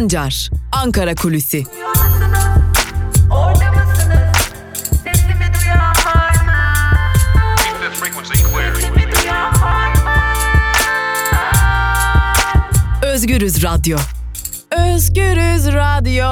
Sancar, Ankara Kulüsi. Orada mısınız? Sesimi duyan var mı? Sesimi duyan var mı? Özgürüz Radyo. Özgürüz Radyo.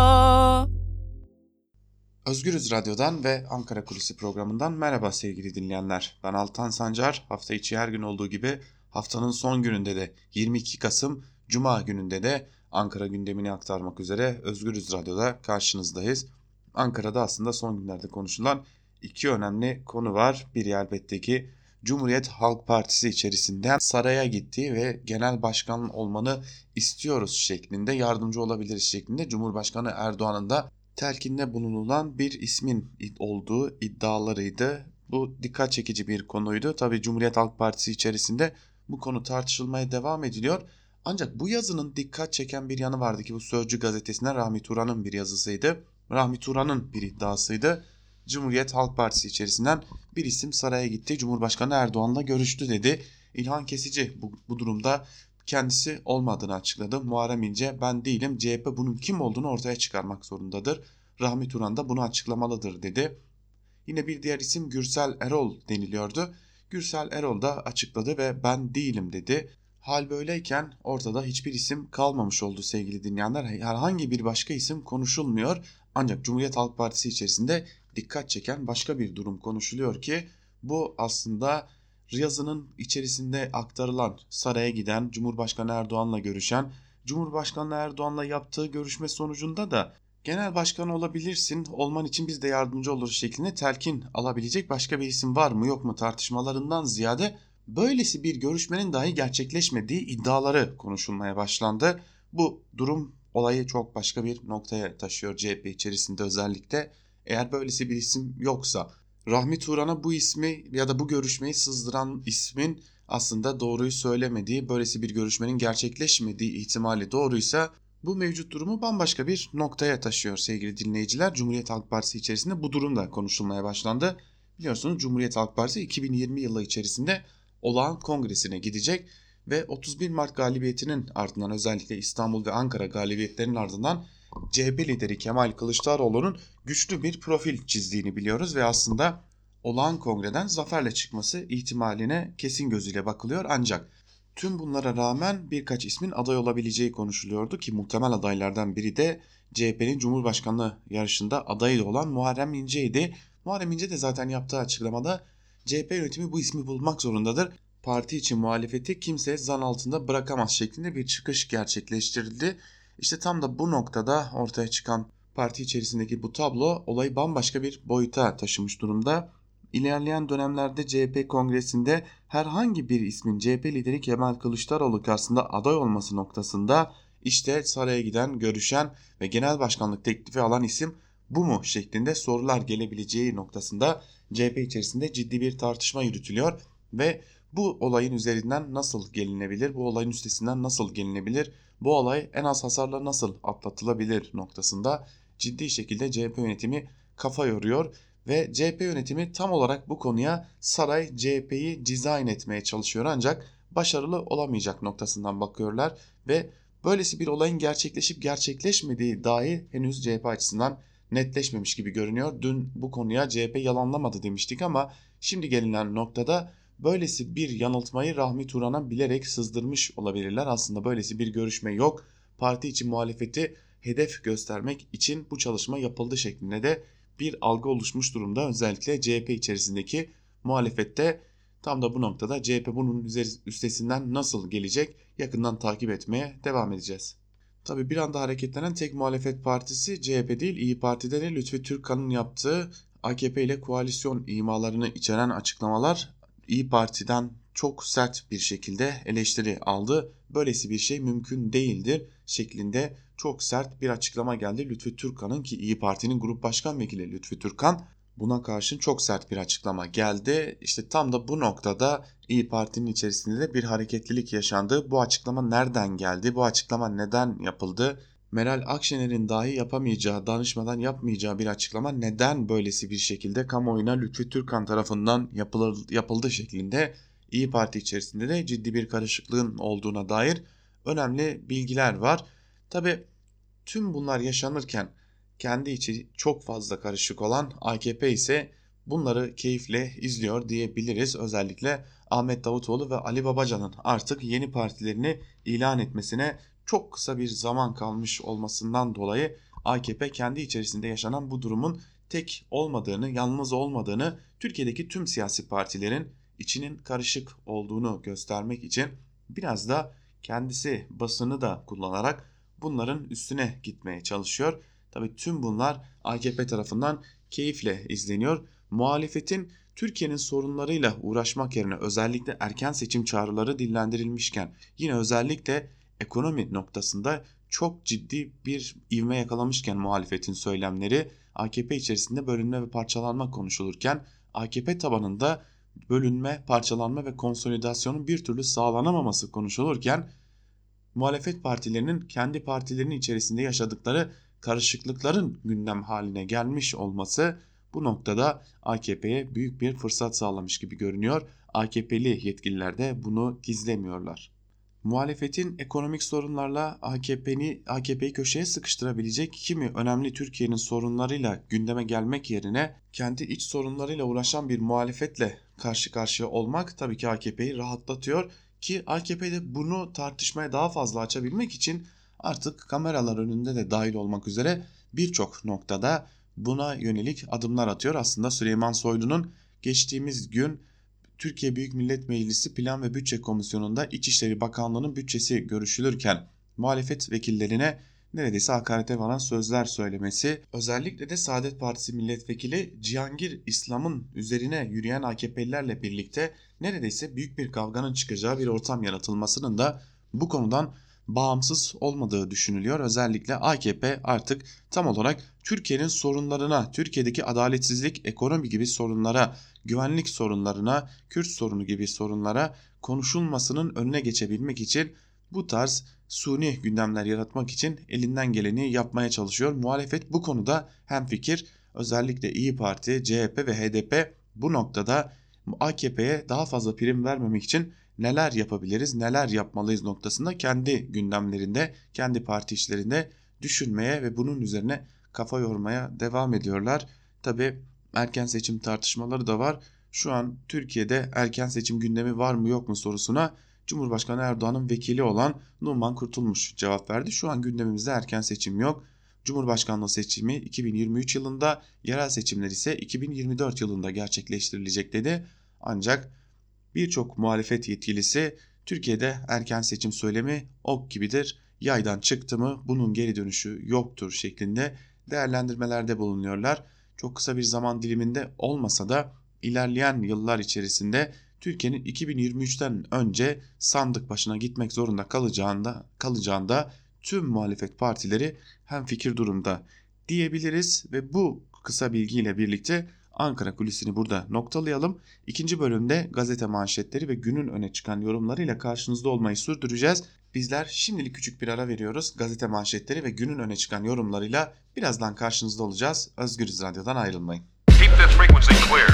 Özgürüz Radyo'dan ve Ankara Kulisi programından merhaba sevgili dinleyenler. Ben Altan Sancar. Hafta içi her gün olduğu gibi haftanın son gününde de 22 Kasım Cuma gününde de Ankara gündemini aktarmak üzere Özgürüz Radyo'da karşınızdayız. Ankara'da aslında son günlerde konuşulan iki önemli konu var. Biri elbette ki Cumhuriyet Halk Partisi içerisinden saraya gittiği ve genel başkan olmanı istiyoruz şeklinde, yardımcı olabiliriz şeklinde Cumhurbaşkanı Erdoğan'ın da telkinde bulunulan bir ismin olduğu iddialarıydı. Bu dikkat çekici bir konuydu. Tabii Cumhuriyet Halk Partisi içerisinde bu konu tartışılmaya devam ediliyor. Ancak bu yazının dikkat çeken bir yanı vardı ki bu Sözcü gazetesinden Rahmi Turan'ın bir yazısıydı. Rahmi Turan'ın bir iddiasıydı. Cumhuriyet Halk Partisi içerisinden bir isim saraya gitti, Cumhurbaşkanı Erdoğan'la görüştü dedi. İlhan Kesici bu durumda kendisi olmadığını açıkladı. Muharrem İnce ben değilim, CHP bunun kim olduğunu ortaya çıkarmak zorundadır. Rahmi Turan da bunu açıklamalıdır dedi. Yine bir diğer isim Gürsel Erol deniliyordu. Gürsel Erol da açıkladı ve ben değilim dedi. Hal böyleyken ortada hiçbir isim kalmamış oldu sevgili dinleyenler. Herhangi bir başka isim konuşulmuyor. Ancak Cumhuriyet Halk Partisi içerisinde dikkat çeken başka bir durum konuşuluyor ki bu aslında yazının içerisinde aktarılan saraya giden, Cumhurbaşkanı Erdoğan'la görüşen, Cumhurbaşkanı Erdoğan'la yaptığı görüşme sonucunda da genel başkan olabilirsin, olman için biz de yardımcı oluruz şeklinde telkin alabilecek başka bir isim var mı yok mu tartışmalarından ziyade böylesi bir görüşmenin dahi gerçekleşmediği iddiaları konuşulmaya başlandı. Bu durum olayı çok başka bir noktaya taşıyor CHP içerisinde özellikle. Eğer böylesi bir isim yoksa, Rahmi Turan'a bu ismi ya da bu görüşmeyi sızdıran ismin aslında doğruyu söylemediği, böylesi bir görüşmenin gerçekleşmediği ihtimali doğruysa bu mevcut durumu bambaşka bir noktaya taşıyor sevgili dinleyiciler. Cumhuriyet Halk Partisi içerisinde bu durum da konuşulmaya başlandı. Biliyorsunuz Cumhuriyet Halk Partisi 2020 yılı içerisinde olağan kongresine gidecek ve 31 Mart galibiyetinin ardından, özellikle İstanbul ve Ankara galibiyetlerinin ardından CHP lideri Kemal Kılıçdaroğlu'nun güçlü bir profil çizdiğini biliyoruz ve aslında olağan kongreden zaferle çıkması ihtimaline kesin gözüyle bakılıyor. Ancak tüm bunlara rağmen birkaç ismin aday olabileceği konuşuluyordu ki muhtemel adaylardan biri de CHP'nin Cumhurbaşkanlığı yarışında adayı olan Muharrem İnce'ydi. Muharrem İnce de zaten yaptığı açıklamada CHP yönetimi bu ismi bulmak zorundadır. Parti için muhalefeti kimse zan altında bırakamaz şeklinde bir çıkış gerçekleştirildi. İşte tam da bu noktada ortaya çıkan parti içerisindeki bu tablo olayı bambaşka bir boyuta taşımış durumda. İlerleyen dönemlerde CHP kongresinde herhangi bir ismin CHP lideri Kemal Kılıçdaroğlu karşısında aday olması noktasında işte saraya giden, görüşen ve genel başkanlık teklifi alan isim bu mu şeklinde sorular gelebileceği noktasında CHP içerisinde ciddi bir tartışma yürütülüyor ve bu olayın üzerinden nasıl gelinebilir, bu olayın üstesinden nasıl gelinebilir, bu olay en az hasarla nasıl atlatılabilir noktasında ciddi şekilde CHP yönetimi kafa yoruyor ve CHP yönetimi tam olarak bu konuya saray CHP'yi dizayn etmeye çalışıyor ancak başarılı olamayacak noktasından bakıyorlar ve böylesi bir olayın gerçekleşip gerçekleşmediği dahi henüz CHP açısından netleşmemiş gibi görünüyor. Dün bu konuya CHP yalanlamadı demiştik ama şimdi gelinen noktada böylesi bir yanıltmayı Rahmi Turan'a bilerek sızdırmış olabilirler. Aslında böylesi bir görüşme yok. Parti için muhalefeti hedef göstermek için bu çalışma yapıldı şeklinde de bir algı oluşmuş durumda. Özellikle CHP içerisindeki muhalefette tam da bu noktada CHP bunun üstesinden nasıl gelecek yakından takip etmeye devam edeceğiz. Tabii bir anda hareketlenen tek muhalefet partisi CHP değil, İyi Parti'de de Lütfü Türkkan'ın yaptığı AKP ile koalisyon imalarını içeren açıklamalar İyi Parti'den çok sert bir şekilde eleştiri aldı. Böylesi bir şey mümkün değildir şeklinde çok sert bir açıklama geldi Lütfü Türkkan'ın ki İyi Parti'nin Grup Başkan Vekili Lütfü Türkkan buna karşın çok sert bir açıklama geldi. İşte tam da bu noktada İyi Parti'nin içerisinde de bir hareketlilik yaşandı. Bu açıklama nereden geldi? Bu açıklama neden yapıldı? Meral Akşener'in dahi yapamayacağı, danışmadan yapmayacağı bir açıklama neden böylesi bir şekilde kamuoyuna Lütfü Türkkan tarafından yapıldı şeklinde İyi Parti içerisinde de ciddi bir karışıklığın olduğuna dair önemli bilgiler var. Tabii Tüm bunlar yaşanırken kendi içi çok fazla karışık olan AKP ise bunları keyifle izliyor diyebiliriz. Özellikle Ahmet Davutoğlu ve Ali Babacan'ın artık yeni partilerini ilan etmesine çok kısa bir zaman kalmış olmasından dolayı AKP kendi içerisinde yaşanan bu durumun tek olmadığını, yalnız olmadığını, Türkiye'deki tüm siyasi partilerin içinin karışık olduğunu göstermek için biraz da kendisi basını da kullanarak bunların üstüne gitmeye çalışıyor. Tabii tüm bunlar AKP tarafından keyifle izleniyor. Muhalefetin Türkiye'nin sorunlarıyla uğraşmak yerine özellikle erken seçim çağrıları dillendirilmişken yine özellikle ekonomi noktasında çok ciddi bir ivme yakalamışken muhalefetin söylemleri, AKP içerisinde bölünme ve parçalanma konuşulurken AKP tabanında bölünme, parçalanma ve konsolidasyonun bir türlü sağlanamaması konuşulurken muhalefet partilerinin kendi partilerinin içerisinde yaşadıkları karışıklıkların gündem haline gelmiş olması bu noktada AKP'ye büyük bir fırsat sağlamış gibi görünüyor. AKP'li yetkililer de bunu gizlemiyorlar. Muhalefetin ekonomik sorunlarla AKP'yi köşeye sıkıştırabilecek kimi önemli Türkiye'nin sorunlarıyla gündeme gelmek yerine kendi iç sorunlarıyla uğraşan bir muhalefetle karşı karşıya olmak tabii ki AKP'yi rahatlatıyor ki AKP'de bunu tartışmaya daha fazla açabilmek için artık kameralar önünde de dahil olmak üzere birçok noktada buna yönelik adımlar atıyor. Aslında Süleyman Soylu'nun geçtiğimiz gün Türkiye Büyük Millet Meclisi Plan ve Bütçe Komisyonu'nda İçişleri Bakanlığı'nın bütçesi görüşülürken muhalefet vekillerine neredeyse hakarete varan sözler söylemesi, özellikle de Saadet Partisi milletvekili Cihangir İslam'ın üzerine yürüyen AKP'lilerle birlikte neredeyse büyük bir kavganın çıkacağı bir ortam yaratılmasının da bu konudan bağımsız olmadığı düşünülüyor. Özellikle AKP artık tam olarak Türkiye'nin sorunlarına, Türkiye'deki adaletsizlik, ekonomi gibi sorunlara, güvenlik sorunlarına, Kürt sorunu gibi sorunlara konuşulmasının önüne geçebilmek için bu tarz suni gündemler yaratmak için elinden geleni yapmaya çalışıyor. Muhalefet bu konuda hemfikir. Özellikle İyi Parti, CHP ve HDP bu noktada AKP'ye daha fazla prim vermemek için neler yapabiliriz, neler yapmalıyız noktasında kendi gündemlerinde, kendi parti işlerinde düşünmeye ve bunun üzerine kafa yormaya devam ediyorlar. Tabii erken seçim tartışmaları da var. Şu an Türkiye'de erken seçim gündemi var mı yok mu sorusuna Cumhurbaşkanı Erdoğan'ın vekili olan Numan Kurtulmuş cevap verdi. Şu an gündemimizde erken seçim yok. Cumhurbaşkanlığı seçimi 2023 yılında, yerel seçimler ise 2024 yılında gerçekleştirilecek dedi. Ancak birçok muhalefet yetkilisi Türkiye'de erken seçim söylemi ok gibidir. Yaydan çıktı mı bunun geri dönüşü yoktur şeklinde değerlendirmelerde bulunuyorlar. Çok kısa bir zaman diliminde olmasa da ilerleyen yıllar içerisinde Türkiye'nin 2023'ten önce sandık başına gitmek zorunda kalacağında tüm muhalefet partileri hemfikir durumda diyebiliriz ve bu kısa bilgiyle birlikte Ankara Kulisi'ni burada noktalayalım. İkinci bölümde gazete manşetleri ve günün öne çıkan yorumlarıyla karşınızda olmayı sürdüreceğiz. Bizler şimdilik küçük bir ara veriyoruz. Gazete manşetleri ve günün öne çıkan yorumlarıyla birazdan karşınızda olacağız. Özgürüz Radyo'dan ayrılmayın. Keep the frequency clear.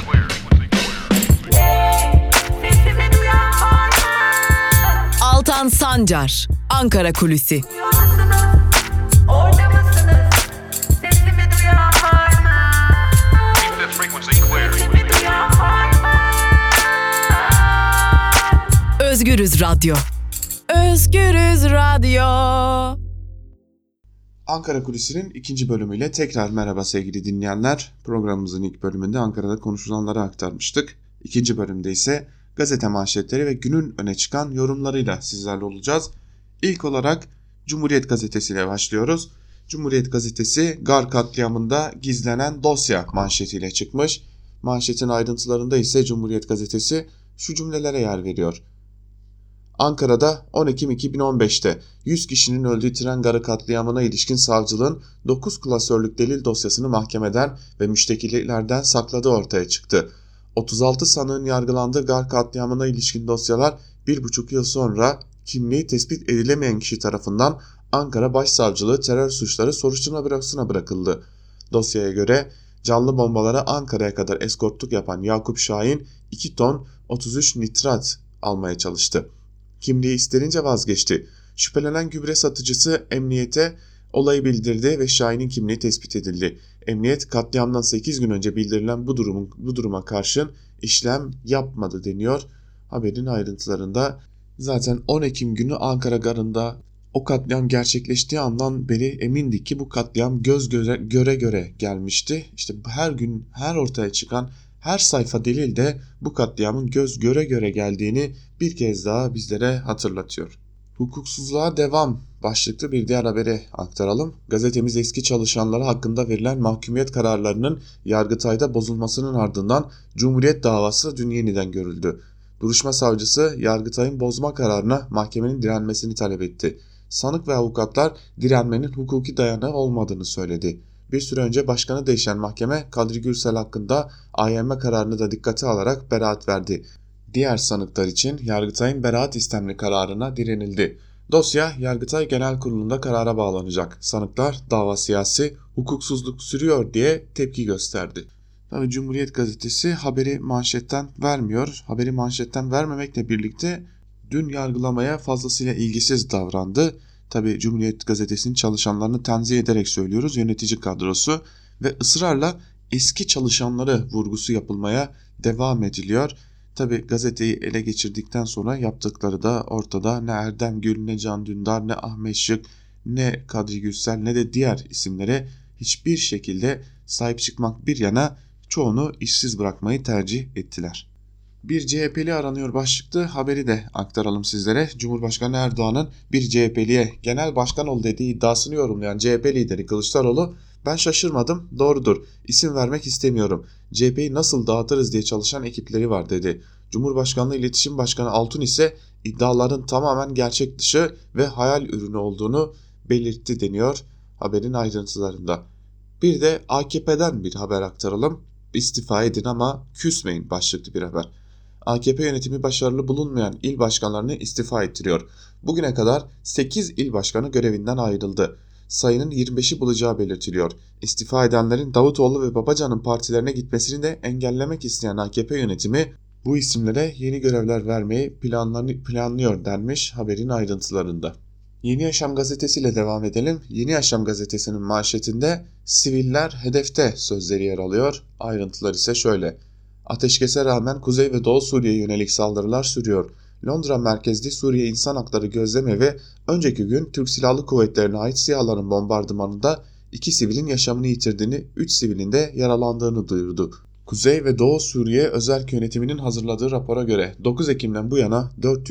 Sesimi duyan var mı? Altan Sancar, Ankara Kulüsi. Duyuyor musunuz? Orada mısınız? Sesimi duyan var mı? Keep the frequency clear. Sesimi duyan var mı? Özgürüz Radyo. Özgürüz Radyo. Ankara Kulisi'nin ikinci bölümüyle tekrar merhaba sevgili dinleyenler. Programımızın ilk bölümünde Ankara'da konuşulanları aktarmıştık. İkinci bölümde ise gazete manşetleri ve günün öne çıkan yorumlarıyla sizlerle olacağız. İlk olarak Cumhuriyet Gazetesi ile başlıyoruz. Cumhuriyet Gazetesi Gar katliamında gizlenen dosya manşetiyle çıkmış. Manşetin ayrıntılarında ise Cumhuriyet Gazetesi şu cümlelere yer veriyor. Ankara'da 10 Ekim 2015'te 100 kişinin öldüğü tren garı katliamına ilişkin savcılığın 9 klasörlük delil dosyasını mahkemeden ve müştekilerden sakladığı ortaya çıktı. 36 sanığın yargılandığı gar katliamına ilişkin dosyalar 1,5 yıl sonra kimliği tespit edilemeyen kişi tarafından Ankara Başsavcılığı Terör Suçları Soruşturma Bürosu'na bırakıldı. Dosyaya göre canlı bombalara Ankara'ya kadar eskortluk yapan Yakup Şahin 2 ton 33 nitrat almaya çalıştı. Kimliği isterince vazgeçti. Şüphelenen gübre satıcısı emniyete olayı bildirdi ve Şahin'in kimliği tespit edildi. Emniyet katliamdan 8 gün önce bildirilen bu duruma karşın işlem yapmadı deniyor haberin ayrıntılarında. Zaten 10 Ekim günü Ankara Garı'nda o katliam gerçekleştiği andan beri emindik ki bu katliam göz göre gelmişti. İşte her gün her ortaya çıkan her sayfa delil de bu katliamın göz göre geldiğini bir kez daha bizlere hatırlatıyor. Hukuksuzluğa devam başlıklı bir diğer haberi aktaralım. Gazetemiz eski çalışanları hakkında verilen mahkumiyet kararlarının Yargıtay'da bozulmasının ardından Cumhuriyet davası dün yeniden görüldü. Duruşma savcısı Yargıtay'ın bozma kararına mahkemenin direnmesini talep etti. Sanık ve avukatlar direnmenin hukuki dayanağı olmadığını söyledi. Bir süre önce başkanı değişen mahkeme Kadri Gürsel hakkında AYM kararını da dikkate alarak beraat verdi. Diğer sanıklar için Yargıtay'ın beraat istemli kararına direnildi. Dosya Yargıtay Genel Kurulu'nda karara bağlanacak. Sanıklar dava siyasi, hukuksuzluk sürüyor diye tepki gösterdi. Tabii Cumhuriyet Gazetesi haberi manşetten vermiyor. Haberi manşetten vermemekle birlikte dün yargılamaya fazlasıyla ilgisiz davrandı. Tabii Cumhuriyet Gazetesi'nin çalışanlarını tenzih ederek söylüyoruz. Yönetici kadrosu ve ısrarla eski çalışanları vurgusu yapılmaya devam ediliyor. Tabii gazeteyi ele geçirdikten sonra yaptıkları da ortada. Ne Erdem Gül, ne Can Dündar, ne Ahmet Şık, ne Kadri Gürsel, ne de diğer isimlere hiçbir şekilde sahip çıkmak bir yana çoğunu işsiz bırakmayı tercih ettiler. Bir CHP'li aranıyor başlıklı haberi de aktaralım sizlere. Cumhurbaşkanı Erdoğan'ın bir CHP'liye genel başkan ol dediği iddiasını yorumlayan CHP lideri Kılıçdaroğlu, "Ben şaşırmadım, doğrudur, isim vermek istemiyorum. CHP'yi nasıl dağıtırız diye çalışan ekipleri var" dedi. Cumhurbaşkanlığı İletişim Başkanı Altun ise iddiaların tamamen gerçek dışı ve hayal ürünü olduğunu belirtti deniyor haberin ayrıntılarında. Bir de AKP'den bir haber aktaralım. "İstifa edin ama küsmeyin" başlıklı bir haber. AKP yönetimi başarılı bulunmayan il başkanlarını istifa ettiriyor. Bugüne kadar 8 il başkanı görevinden ayrıldı. Sayının 25'i bulacağı belirtiliyor. İstifa edenlerin Davutoğlu ve Babacan'ın partilerine gitmesini de engellemek isteyen AKP yönetimi bu isimlere yeni görevler vermeyi planlıyor denmiş haberin ayrıntılarında. Yeni Yaşam gazetesiyle devam edelim. Yeni Yaşam gazetesinin manşetinde "Siviller hedefte" sözleri yer alıyor. Ayrıntılar ise şöyle. Ateşkese rağmen Kuzey ve Doğu Suriye'ye yönelik saldırılar sürüyor. Londra merkezli Suriye İnsan Hakları Gözlemevi önceki gün Türk Silahlı Kuvvetleri'ne ait SİHA'ların bombardımanında 2 sivilin yaşamını yitirdiğini, 3 sivilin de yaralandığını duyurdu. Kuzey ve Doğu Suriye Özerk Yönetimi'nin hazırladığı rapora göre 9 Ekim'den bu yana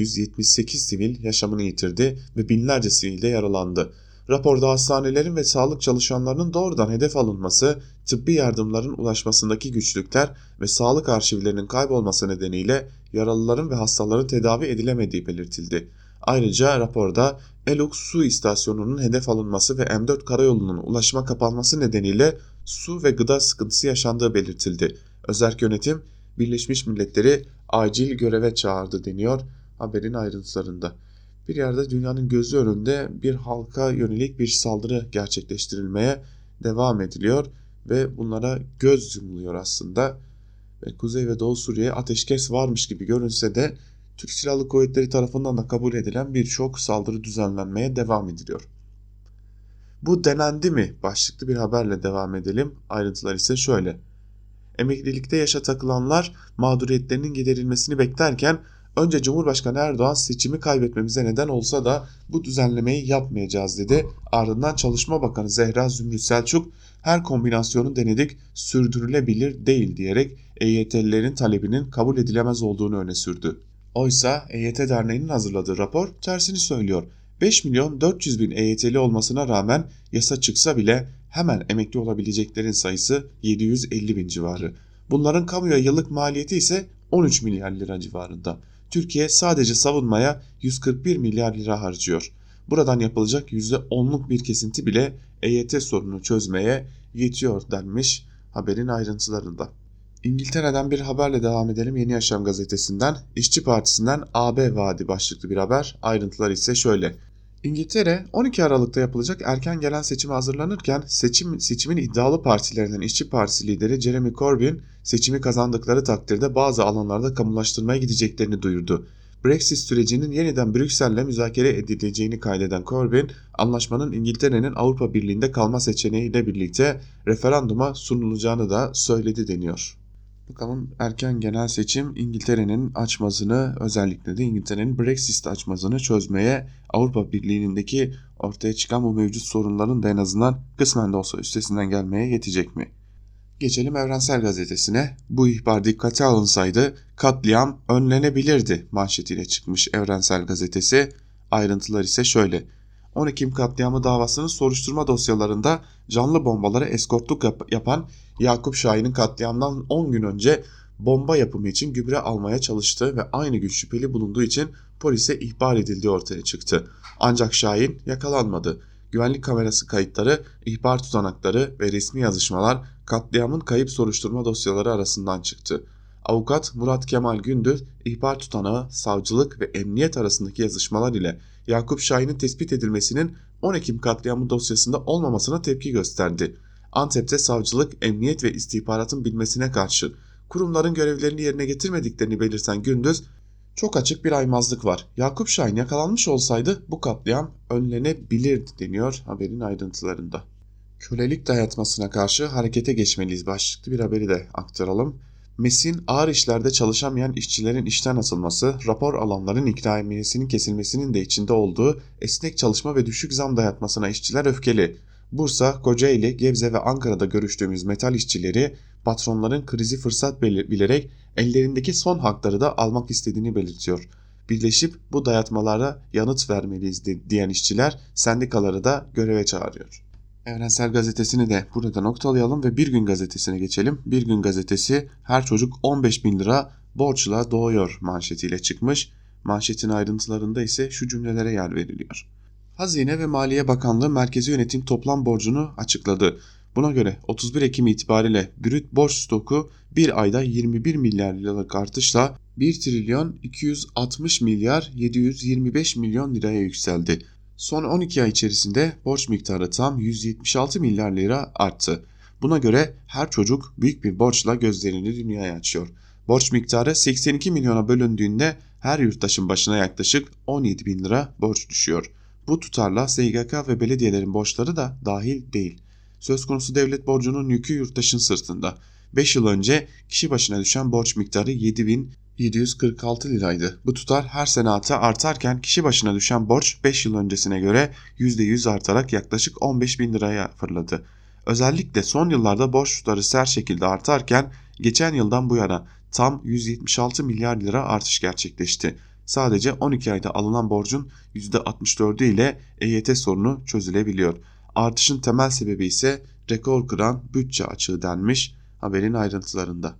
478 sivil yaşamını yitirdi ve binlerce sivil de yaralandı. Raporda hastanelerin ve sağlık çalışanlarının doğrudan hedef alınması, tıbbi yardımların ulaşmasındaki güçlükler ve sağlık arşivlerinin kaybolması nedeniyle yaralıların ve hastaların tedavi edilemediği belirtildi. Ayrıca raporda Eluk Su İstasyonu'nun hedef alınması ve M4 karayolunun ulaşıma kapanması nedeniyle su ve gıda sıkıntısı yaşandığı belirtildi. Özerk Yönetim Birleşmiş Milletleri acil göreve çağırdı deniyor haberin ayrıntılarında. Bir yerde dünyanın gözü önünde bir halka yönelik bir saldırı gerçekleştirilmeye devam ediliyor ve bunlara göz yumuluyor aslında. Ve Kuzey ve Doğu Suriye ateşkes varmış gibi görünse de Türk Silahlı Kuvvetleri tarafından da kabul edilen birçok saldırı düzenlenmeye devam ediliyor. Bu denendi mi başlıklı bir haberle devam edelim. Ayrıntılar ise şöyle. Emeklilikte yaşa takılanlar mağduriyetlerinin giderilmesini beklerken önce Cumhurbaşkanı Erdoğan seçimi kaybetmemize neden olsa da bu düzenlemeyi yapmayacağız dedi. Ardından Çalışma Bakanı Zehra Zümrüt Selçuk her kombinasyonu denedik, sürdürülebilir değil diyerek EYT'lilerin talebinin kabul edilemez olduğunu öne sürdü. Oysa EYT Derneği'nin hazırladığı rapor tersini söylüyor. 5.400.000 EYT'li olmasına rağmen yasa çıksa bile hemen emekli olabileceklerin sayısı 750.000 civarı. Bunların kamuya yıllık maliyeti ise 13 milyar lira civarında. Türkiye sadece savunmaya 141 milyar lira harcıyor. Buradan yapılacak %10'luk bir kesinti bile EYT sorununu çözmeye yetiyor denmiş haberin ayrıntılarında. İngiltere'den bir haberle devam edelim. Yeni Yaşam gazetesinden İşçi Partisi'nden AB vaadi başlıklı bir haber. Ayrıntılar ise şöyle. İngiltere 12 Aralık'ta yapılacak erken gelen seçime hazırlanırken seçimin iddialı partilerinden İşçi Partisi lideri Jeremy Corbyn seçimi kazandıkları takdirde bazı alanlarda kamulaştırmaya gideceklerini duyurdu. Brexit sürecinin yeniden Brüksel'le müzakere edileceğini kaydeden Corbyn, anlaşmanın İngiltere'nin Avrupa Birliği'nde kalma seçeneğiyle birlikte referanduma sunulacağını da söyledi deniyor. Bakalım erken genel seçim İngiltere'nin açmazını, özellikle de İngiltere'nin Brexit açmazını çözmeye, Avrupa Birliği'ndeki ortaya çıkan bu mevcut sorunların da en azından kısmen de olsa üstesinden gelmeye yetecek mi? Geçelim Evrensel Gazetesi'ne. Bu ihbar dikkate alınsaydı katliam önlenebilirdi manşetiyle çıkmış Evrensel Gazetesi. Ayrıntılar ise şöyle. 10 Ekim katliamı davasının soruşturma dosyalarında canlı bombalara eskortluk yapan Yakup Şahin'in katliamdan 10 gün önce bomba yapımı için gübre almaya çalıştığı ve aynı gün şüpheli bulunduğu için polise ihbar edildiği ortaya çıktı. Ancak Şahin yakalanmadı. Güvenlik kamerası kayıtları, ihbar tutanakları ve resmi yazışmalar katliamın kayıp soruşturma dosyaları arasından çıktı. Avukat Murat Kemal Gündüz, ihbar tutanağı, savcılık ve emniyet arasındaki yazışmalar ile Yakup Şahin'in tespit edilmesinin 10 Ekim katliamı dosyasında olmamasına tepki gösterdi. Antep'te savcılık, emniyet ve istihbaratın bilmesine karşı kurumların görevlerini yerine getirmediklerini belirten Gündüz, "Çok açık bir aymazlık var. Yakup Şahin yakalanmış olsaydı bu katliam önlenebilirdi" deniyor haberin ayrıntılarında. Kölelik dayatmasına karşı harekete geçmeliyiz başlıklı bir haberi de aktaralım. MES'in ağır işlerde çalışamayan işçilerin işten atılması, rapor alanların ikramiyesinin kesilmesinin de içinde olduğu esnek çalışma ve düşük zam dayatmasına işçiler öfkeli. Bursa, Kocaeli, Gebze ve Ankara'da görüştüğümüz metal işçileri patronların krizi fırsat bilerek ellerindeki son hakları da almak istediğini belirtiyor. Birleşip bu dayatmalara yanıt vermeliyiz diyen işçiler sendikaları da göreve çağırıyor. Evrensel Gazetesi'ni de burada noktalayalım ve Bir Gün Gazetesi'ne geçelim. Bir Gün Gazetesi her çocuk 15.000 lira borçla doğuyor manşetiyle çıkmış. Manşetin ayrıntılarında ise şu cümlelere yer veriliyor. Hazine ve Maliye Bakanlığı merkezi yönetim toplam borcunu açıkladı. Buna göre 31 Ekim itibariyle brüt borç stoku bir ayda 21 milyar liralık artışla 1 trilyon 260 milyar 725 milyon liraya yükseldi. Son 12 ay içerisinde borç miktarı tam 176 milyar lira arttı. Buna göre her çocuk büyük bir borçla gözlerini dünyaya açıyor. Borç miktarı 82 milyona bölündüğünde her yurttaşın başına yaklaşık 17 bin lira borç düşüyor. Bu tutarla SGK ve belediyelerin borçları da dahil değil. Söz konusu devlet borcunun yükü yurttaşın sırtında. 5 yıl önce kişi başına düşen borç miktarı 7.746 liraydı. Bu tutar her sene artarken kişi başına düşen borç 5 yıl öncesine göre %100 artarak yaklaşık 15.000 liraya fırladı. Özellikle son yıllarda borç tutarı sert şekilde artarken geçen yıldan bu yana tam 176 milyar lira artış gerçekleşti. Sadece 12 ayda alınan borcun %64'ü ile EYT sorunu çözülebiliyor. Artışın temel sebebi ise rekor kıran bütçe açığı denmiş haberin ayrıntılarında.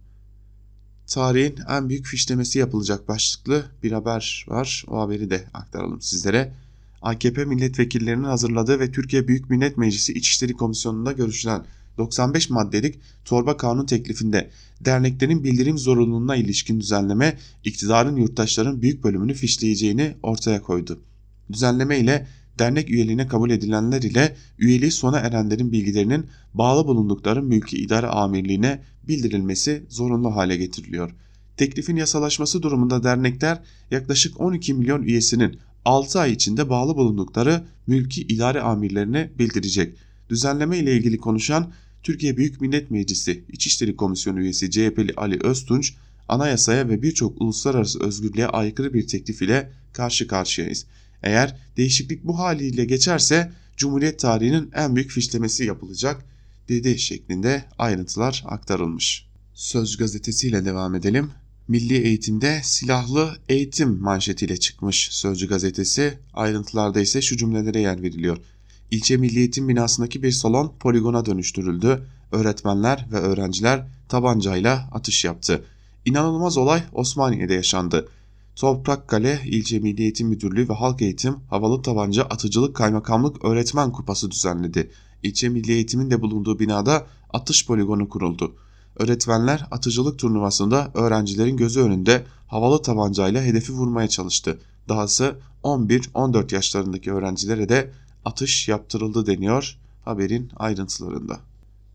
Tarihin en büyük fişlemesi yapılacak başlıklı bir haber var. O haberi de aktaralım sizlere. AKP milletvekillerinin hazırladığı ve Türkiye Büyük Millet Meclisi İçişleri Komisyonu'nda görüşülen 95 maddelik torba kanun teklifinde derneklerin bildirim zorunluluğuna ilişkin düzenleme iktidarın yurttaşların büyük bölümünü fişleyeceğini ortaya koydu. Düzenleme ile dernek üyeliğine kabul edilenler ile üyeliği sona erenlerin bilgilerinin bağlı bulundukları mülki idare amirliğine bildirilmesi zorunlu hale getiriliyor. Teklifin yasalaşması durumunda dernekler yaklaşık 12 milyon üyesinin 6 ay içinde bağlı bulundukları mülki idare amirlerine bildirecek. Düzenleme ile ilgili konuşan Türkiye Büyük Millet Meclisi İçişleri Komisyonu üyesi CHP'li Ali Öztunç, anayasaya ve birçok uluslararası özgürlüğe aykırı bir teklif ile karşı karşıyayız. Eğer değişiklik bu haliyle geçerse Cumhuriyet tarihinin en büyük fişlemesi yapılacak dedi şeklinde ayrıntılar aktarılmış. Sözcü gazetesiyle devam edelim. Milli eğitimde silahlı eğitim manşetiyle çıkmış Sözcü gazetesi. Ayrıntılarda ise şu cümlelere yer veriliyor. İlçe Milli Eğitim binasındaki bir salon poligona dönüştürüldü. Öğretmenler ve öğrenciler tabancayla atış yaptı. İnanılmaz olay Osmaniye'de yaşandı. Toprakkale İlçe Milli Eğitim Müdürlüğü ve Halk Eğitim Havalı Tabanca Atıcılık Kaymakamlık Öğretmen Kupası düzenledi. İlçe Milli Eğitim'in de bulunduğu binada atış poligonu kuruldu. Öğretmenler atıcılık turnuvasında öğrencilerin gözü önünde havalı tabancayla hedefi vurmaya çalıştı. Dahası 11-14 yaşlarındaki öğrencilere de atış yaptırıldı deniyor haberin ayrıntılarında.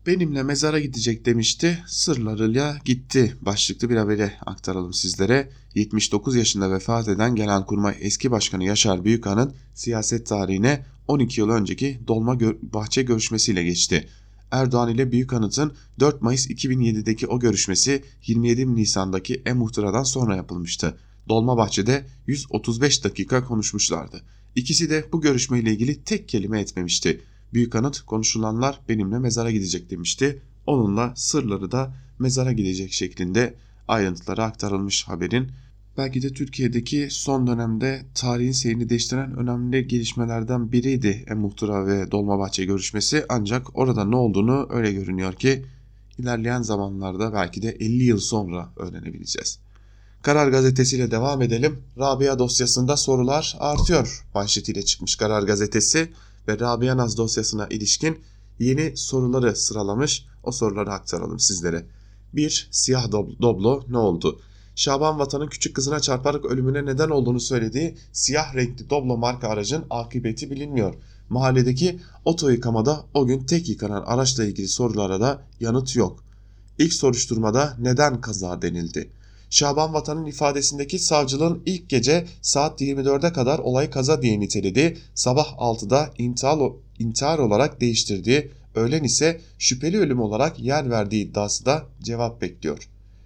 Benimle mezara gidecek demişti, sırlarıyla gitti başlıklı bir haberi aktaralım sizlere. 79 yaşında vefat eden Genelkurmay eski başkanı Yaşar Büyükan'ın siyaset tarihine 12 yıl önceki Dolmabahçe görüşmesiyle geçti. Erdoğan ile Büyükanıt'ın 4 Mayıs 2007'deki o görüşmesi 27 Nisan'daki e-muhtıradan sonra yapılmıştı. Dolmabahçe'de 135 dakika konuşmuşlardı. İkisi de bu görüşmeyle ilgili tek kelime etmemişti. Büyükanıt konuşulanlar benimle mezara gidecek demişti. Onunla sırları da mezara gidecek şeklinde ayrıntıları aktarılmış haberin. Belki de Türkiye'deki son dönemde tarihin seyrini değiştiren önemli gelişmelerden biriydi e-muhtıra ve Dolmabahçe görüşmesi. Ancak orada ne olduğunu öyle görünüyor ki ilerleyen zamanlarda belki de 50 yıl sonra öğrenebileceğiz. Karar Gazetesi'yle devam edelim. Rabia dosyasında sorular artıyor manşetiyle çıkmış Karar Gazetesi ve Rabia Naz dosyasına ilişkin yeni soruları sıralamış. O soruları aktaralım sizlere. 1. Siyah Doblo ne oldu? Şaban Vatan'ın küçük kızına çarparak ölümüne neden olduğunu söylediği siyah renkli Doblo marka aracın akıbeti bilinmiyor. Mahalledeki oto yıkamada o gün tek yıkanan araçla ilgili sorulara da yanıt yok. İlk soruşturmada neden kaza denildi? Şaban Vatan'ın ifadesindeki savcılığın ilk gece saat 24'e kadar olayı kaza diye nitelediği, sabah 6'da intihar olarak değiştirdiği, öğlen ise şüpheli ölüm olarak yer verdiği iddiası da cevap bekliyor.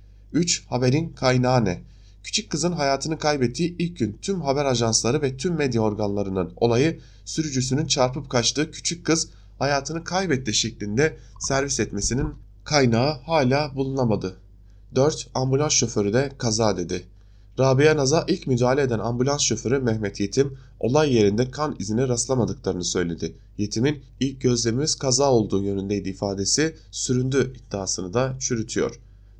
3. Haberin kaynağı ne? Küçük kızın hayatını kaybettiği ilk gün tüm haber ajansları ve tüm medya organlarının olayı sürücüsünün çarpıp kaçtığı küçük kız hayatını kaybetti şeklinde servis etmesinin kaynağı hala bulunamadı. 4. Ambulans şoförü de kaza dedi. Rabia Naz'a ilk müdahale eden ambulans şoförü Mehmet Yetim, olay yerinde kan izine rastlamadıklarını söyledi. Yetim'in ilk gözlemimiz kaza olduğu yönündeydi ifadesi süründü iddiasını da çürütüyor.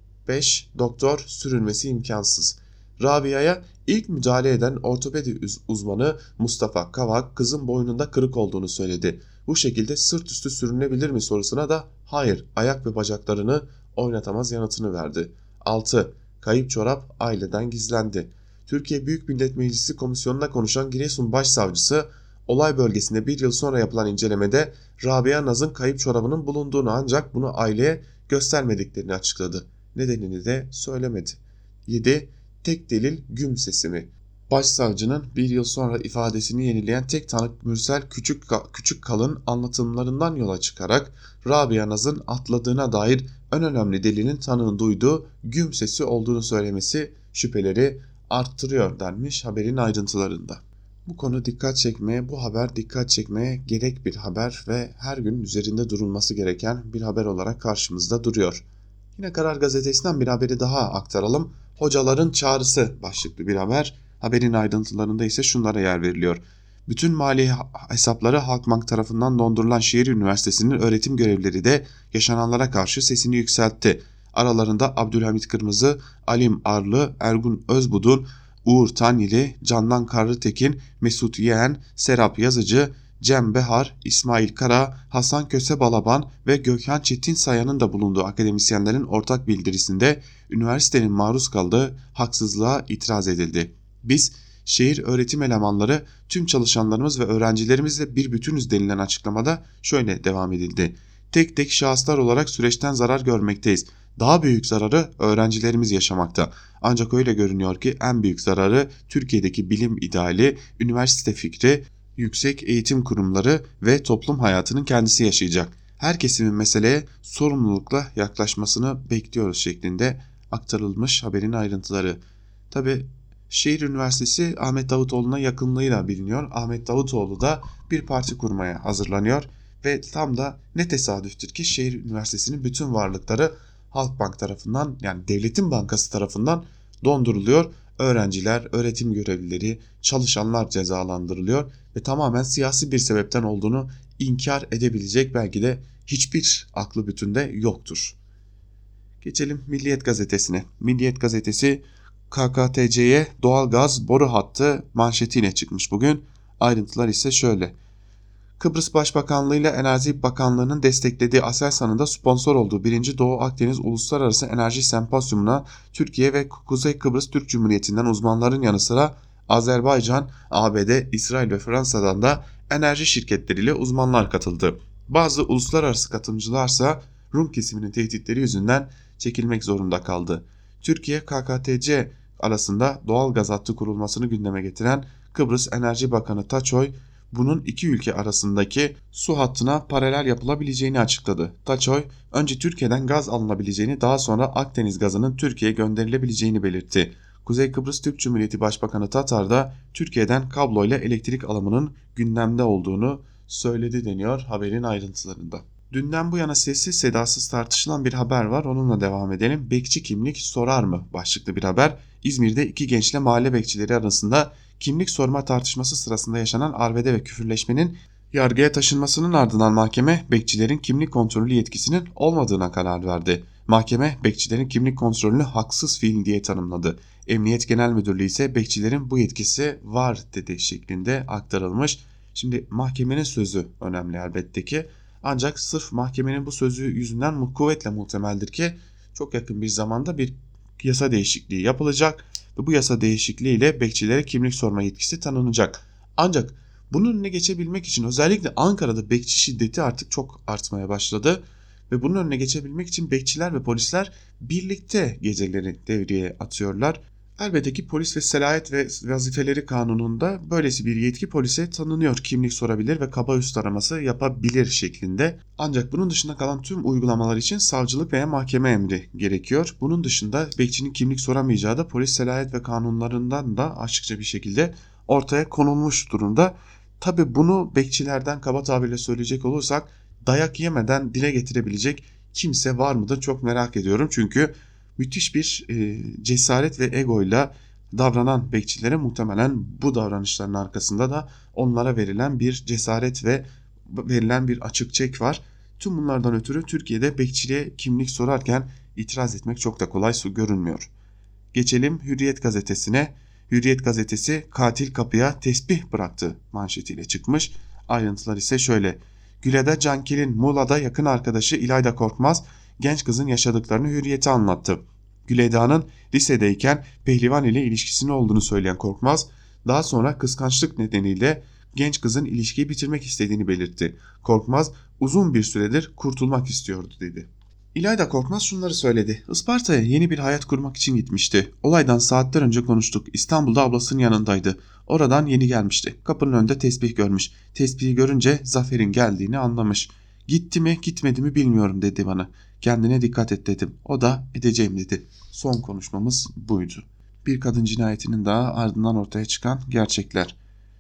5. Doktor sürünmesi imkansız. Rabia'ya ilk müdahale eden ortopedi uzmanı Mustafa Kavak kızın boynunda kırık olduğunu söyledi. Bu şekilde sırt üstü sürünebilir mi sorusuna da hayır, ayak ve bacaklarını oynatamaz yanıtını verdi. 6. Kayıp çorap aileden gizlendi. Türkiye Büyük Millet Meclisi Komisyonu'na konuşan Giresun Başsavcısı, olay bölgesinde bir yıl sonra yapılan incelemede Rabia Naz'ın kayıp çorabının bulunduğunu ancak bunu aileye göstermediklerini açıkladı. Nedenini de söylemedi. 7. Tek delil güm sesi mi? Başsavcının bir yıl sonra ifadesini yenileyen tek tanık Mürsel Küçükkal'ın anlatımlarından yola çıkarak Rabia Naz'ın atladığına dair en önemli delilin tanığın duyduğu güm sesi olduğunu söylemesi şüpheleri arttırıyor denmiş haberin ayrıntılarında. Bu konu bu haber dikkat çekmeye gerek bir haber ve her gün üzerinde durulması gereken bir haber olarak karşımızda duruyor. Yine Karar Gazetesi'nden bir haberi daha aktaralım. Hocaların çağrısı başlıklı bir haber. Haberin ayrıntılarında ise şunlara yer veriliyor. Bütün mali hesapları Halkbank tarafından dondurulan Şehir Üniversitesi'nin öğretim görevlileri de yaşananlara karşı sesini yükseltti. Aralarında Abdülhamit Kırmızı, Alim Arlı, Ergun Özbudun, Uğur Tanyeli, Candan Karlıtekin, Mesut Yeğen, Serap Yazıcı, Cem Behar, İsmail Kara, Hasan Köse Balaban ve Gökhan Çetin Sayan'ın da bulunduğu akademisyenlerin ortak bildirisinde üniversitenin maruz kaldığı haksızlığa itiraz edildi. Biz, şehir öğretim elemanları, tüm çalışanlarımız ve öğrencilerimizle bir bütünüz denilen açıklamada şöyle devam edildi. Tek tek şahıslar olarak süreçten zarar görmekteyiz. Daha büyük zararı öğrencilerimiz yaşamakta. Ancak öyle görünüyor ki en büyük zararı Türkiye'deki bilim ideali, üniversite fikri, yüksek eğitim kurumları ve toplum hayatının kendisi yaşayacak. Her kesimin meseleye sorumlulukla yaklaşmasını bekliyoruz şeklinde aktarılmış haberin ayrıntıları. Tabi Şehir Üniversitesi Ahmet Davutoğlu'na yakınlığıyla biliniyor. Ahmet Davutoğlu da bir parti kurmaya hazırlanıyor ve tam da ne tesadüftür ki Şehir Üniversitesi'nin bütün varlıkları Halkbank tarafından, yani devletin bankası tarafından donduruluyor. Öğrenciler, öğretim görevlileri, çalışanlar cezalandırılıyor ve tamamen siyasi bir sebepten olduğunu inkar edebilecek belki de hiçbir aklı bütünde yoktur. Geçelim Milliyet Gazetesi'ne. Milliyet Gazetesi KKTC'ye doğalgaz boru hattı manşetiyle çıkmış bugün. Ayrıntılar ise şöyle. Kıbrıs Başbakanlığı ile Enerji Bakanlığı'nın desteklediği Aselsan'ın da sponsor olduğu 1. Doğu Akdeniz Uluslararası Enerji Sempozyumuna Türkiye ve Kuzey Kıbrıs Türk Cumhuriyeti'nden uzmanların yanı sıra Azerbaycan, ABD, İsrail ve Fransa'dan da enerji şirketleriyle uzmanlar katıldı. Bazı uluslararası katılımcılarsa Rum kesiminin tehditleri yüzünden çekilmek zorunda kaldı. Türkiye KKTC arasında doğal gaz hattı kurulmasını gündeme getiren Kıbrıs Enerji Bakanı Taçoy, bunun iki ülke arasındaki su hattına paralel yapılabileceğini açıkladı. Taçoy, önce Türkiye'den gaz alınabileceğini, daha sonra Akdeniz gazının Türkiye'ye gönderilebileceğini belirtti. Kuzey Kıbrıs Türk Cumhuriyeti Başbakanı Tatar da Türkiye'den kabloyla elektrik alımının gündemde olduğunu söyledi deniyor haberin ayrıntılarında. Dünden bu yana sessiz sedasız tartışılan bir haber var, onunla devam edelim. Bekçi kimlik sorar mı başlıklı bir haber. İzmir'de iki gençle mahalle bekçileri arasında kimlik sorma tartışması sırasında yaşanan arbede ve küfürleşmenin yargıya taşınmasının ardından mahkeme bekçilerin kimlik kontrolü yetkisinin olmadığına karar verdi. Mahkeme bekçilerin kimlik kontrolünü haksız fiil diye tanımladı. Emniyet Genel Müdürlüğü ise bekçilerin bu yetkisi var dedi şeklinde aktarılmış. Şimdi mahkemenin sözü önemli elbette ki, ancak sırf mahkemenin bu sözü yüzünden kuvvetle muhtemeldir ki çok yakın bir zamanda bir yasa değişikliği yapılacak ve bu yasa değişikliği ile bekçilere kimlik sorma yetkisi tanınacak. Ancak bunun önüne geçebilmek için özellikle Ankara'da bekçi şiddeti artık çok artmaya başladı ve bunun önüne geçebilmek için bekçiler ve polisler birlikte geceleri devreye atıyorlar. Elbette ki polis ve Selayet ve Vazifeleri Kanunu'nda böylesi bir yetki polise tanınıyor. Kimlik sorabilir ve kaba üst araması yapabilir şeklinde. Ancak bunun dışında kalan tüm uygulamalar için savcılık veya mahkeme emri gerekiyor. Bunun dışında bekçinin kimlik soramayacağı da polis Selayet ve kanunlarından da açıkça bir şekilde ortaya konulmuş durumda. Tabi bunu bekçilerden kaba tabirle söyleyecek olursak dayak yemeden dile getirebilecek kimse var mıdır çok merak ediyorum. Çünkü müthiş bir cesaret ve egoyla davranan bekçilere muhtemelen bu davranışların arkasında da onlara verilen bir cesaret ve verilen bir açık çek var. Tüm bunlardan ötürü Türkiye'de bekçiliğe kimlik sorarken itiraz etmek çok da kolay görünmüyor. Geçelim Hürriyet gazetesine. Hürriyet gazetesi katil kapıya tesbih bıraktı manşetiyle çıkmış. Ayrıntılar ise şöyle. Güle'de Cankil'in Muğla'da yakın arkadaşı İlayda Korkmaz genç kızın yaşadıklarını Hürriyet'e anlattı. Güleda'nın lisedeyken pehlivan ile ilişkisinin olduğunu söyleyen Korkmaz, daha sonra kıskançlık nedeniyle genç kızın ilişkiyi bitirmek istediğini belirtti. Korkmaz, uzun bir süredir kurtulmak istiyordu dedi. İlayda Korkmaz şunları söyledi. Isparta'ya yeni bir hayat kurmak için gitmişti. Olaydan saatler önce konuştuk. İstanbul'da ablasının yanındaydı. Oradan yeni gelmişti. Kapının önünde tesbih görmüş. Tesbihi görünce Zafer'in geldiğini anlamış. Gitti mi gitmedi mi bilmiyorum dedi bana. Kendine dikkat et dedim. O da edeceğim dedi. Son konuşmamız buydu. Bir kadın cinayetinin daha ardından ortaya çıkan gerçekler.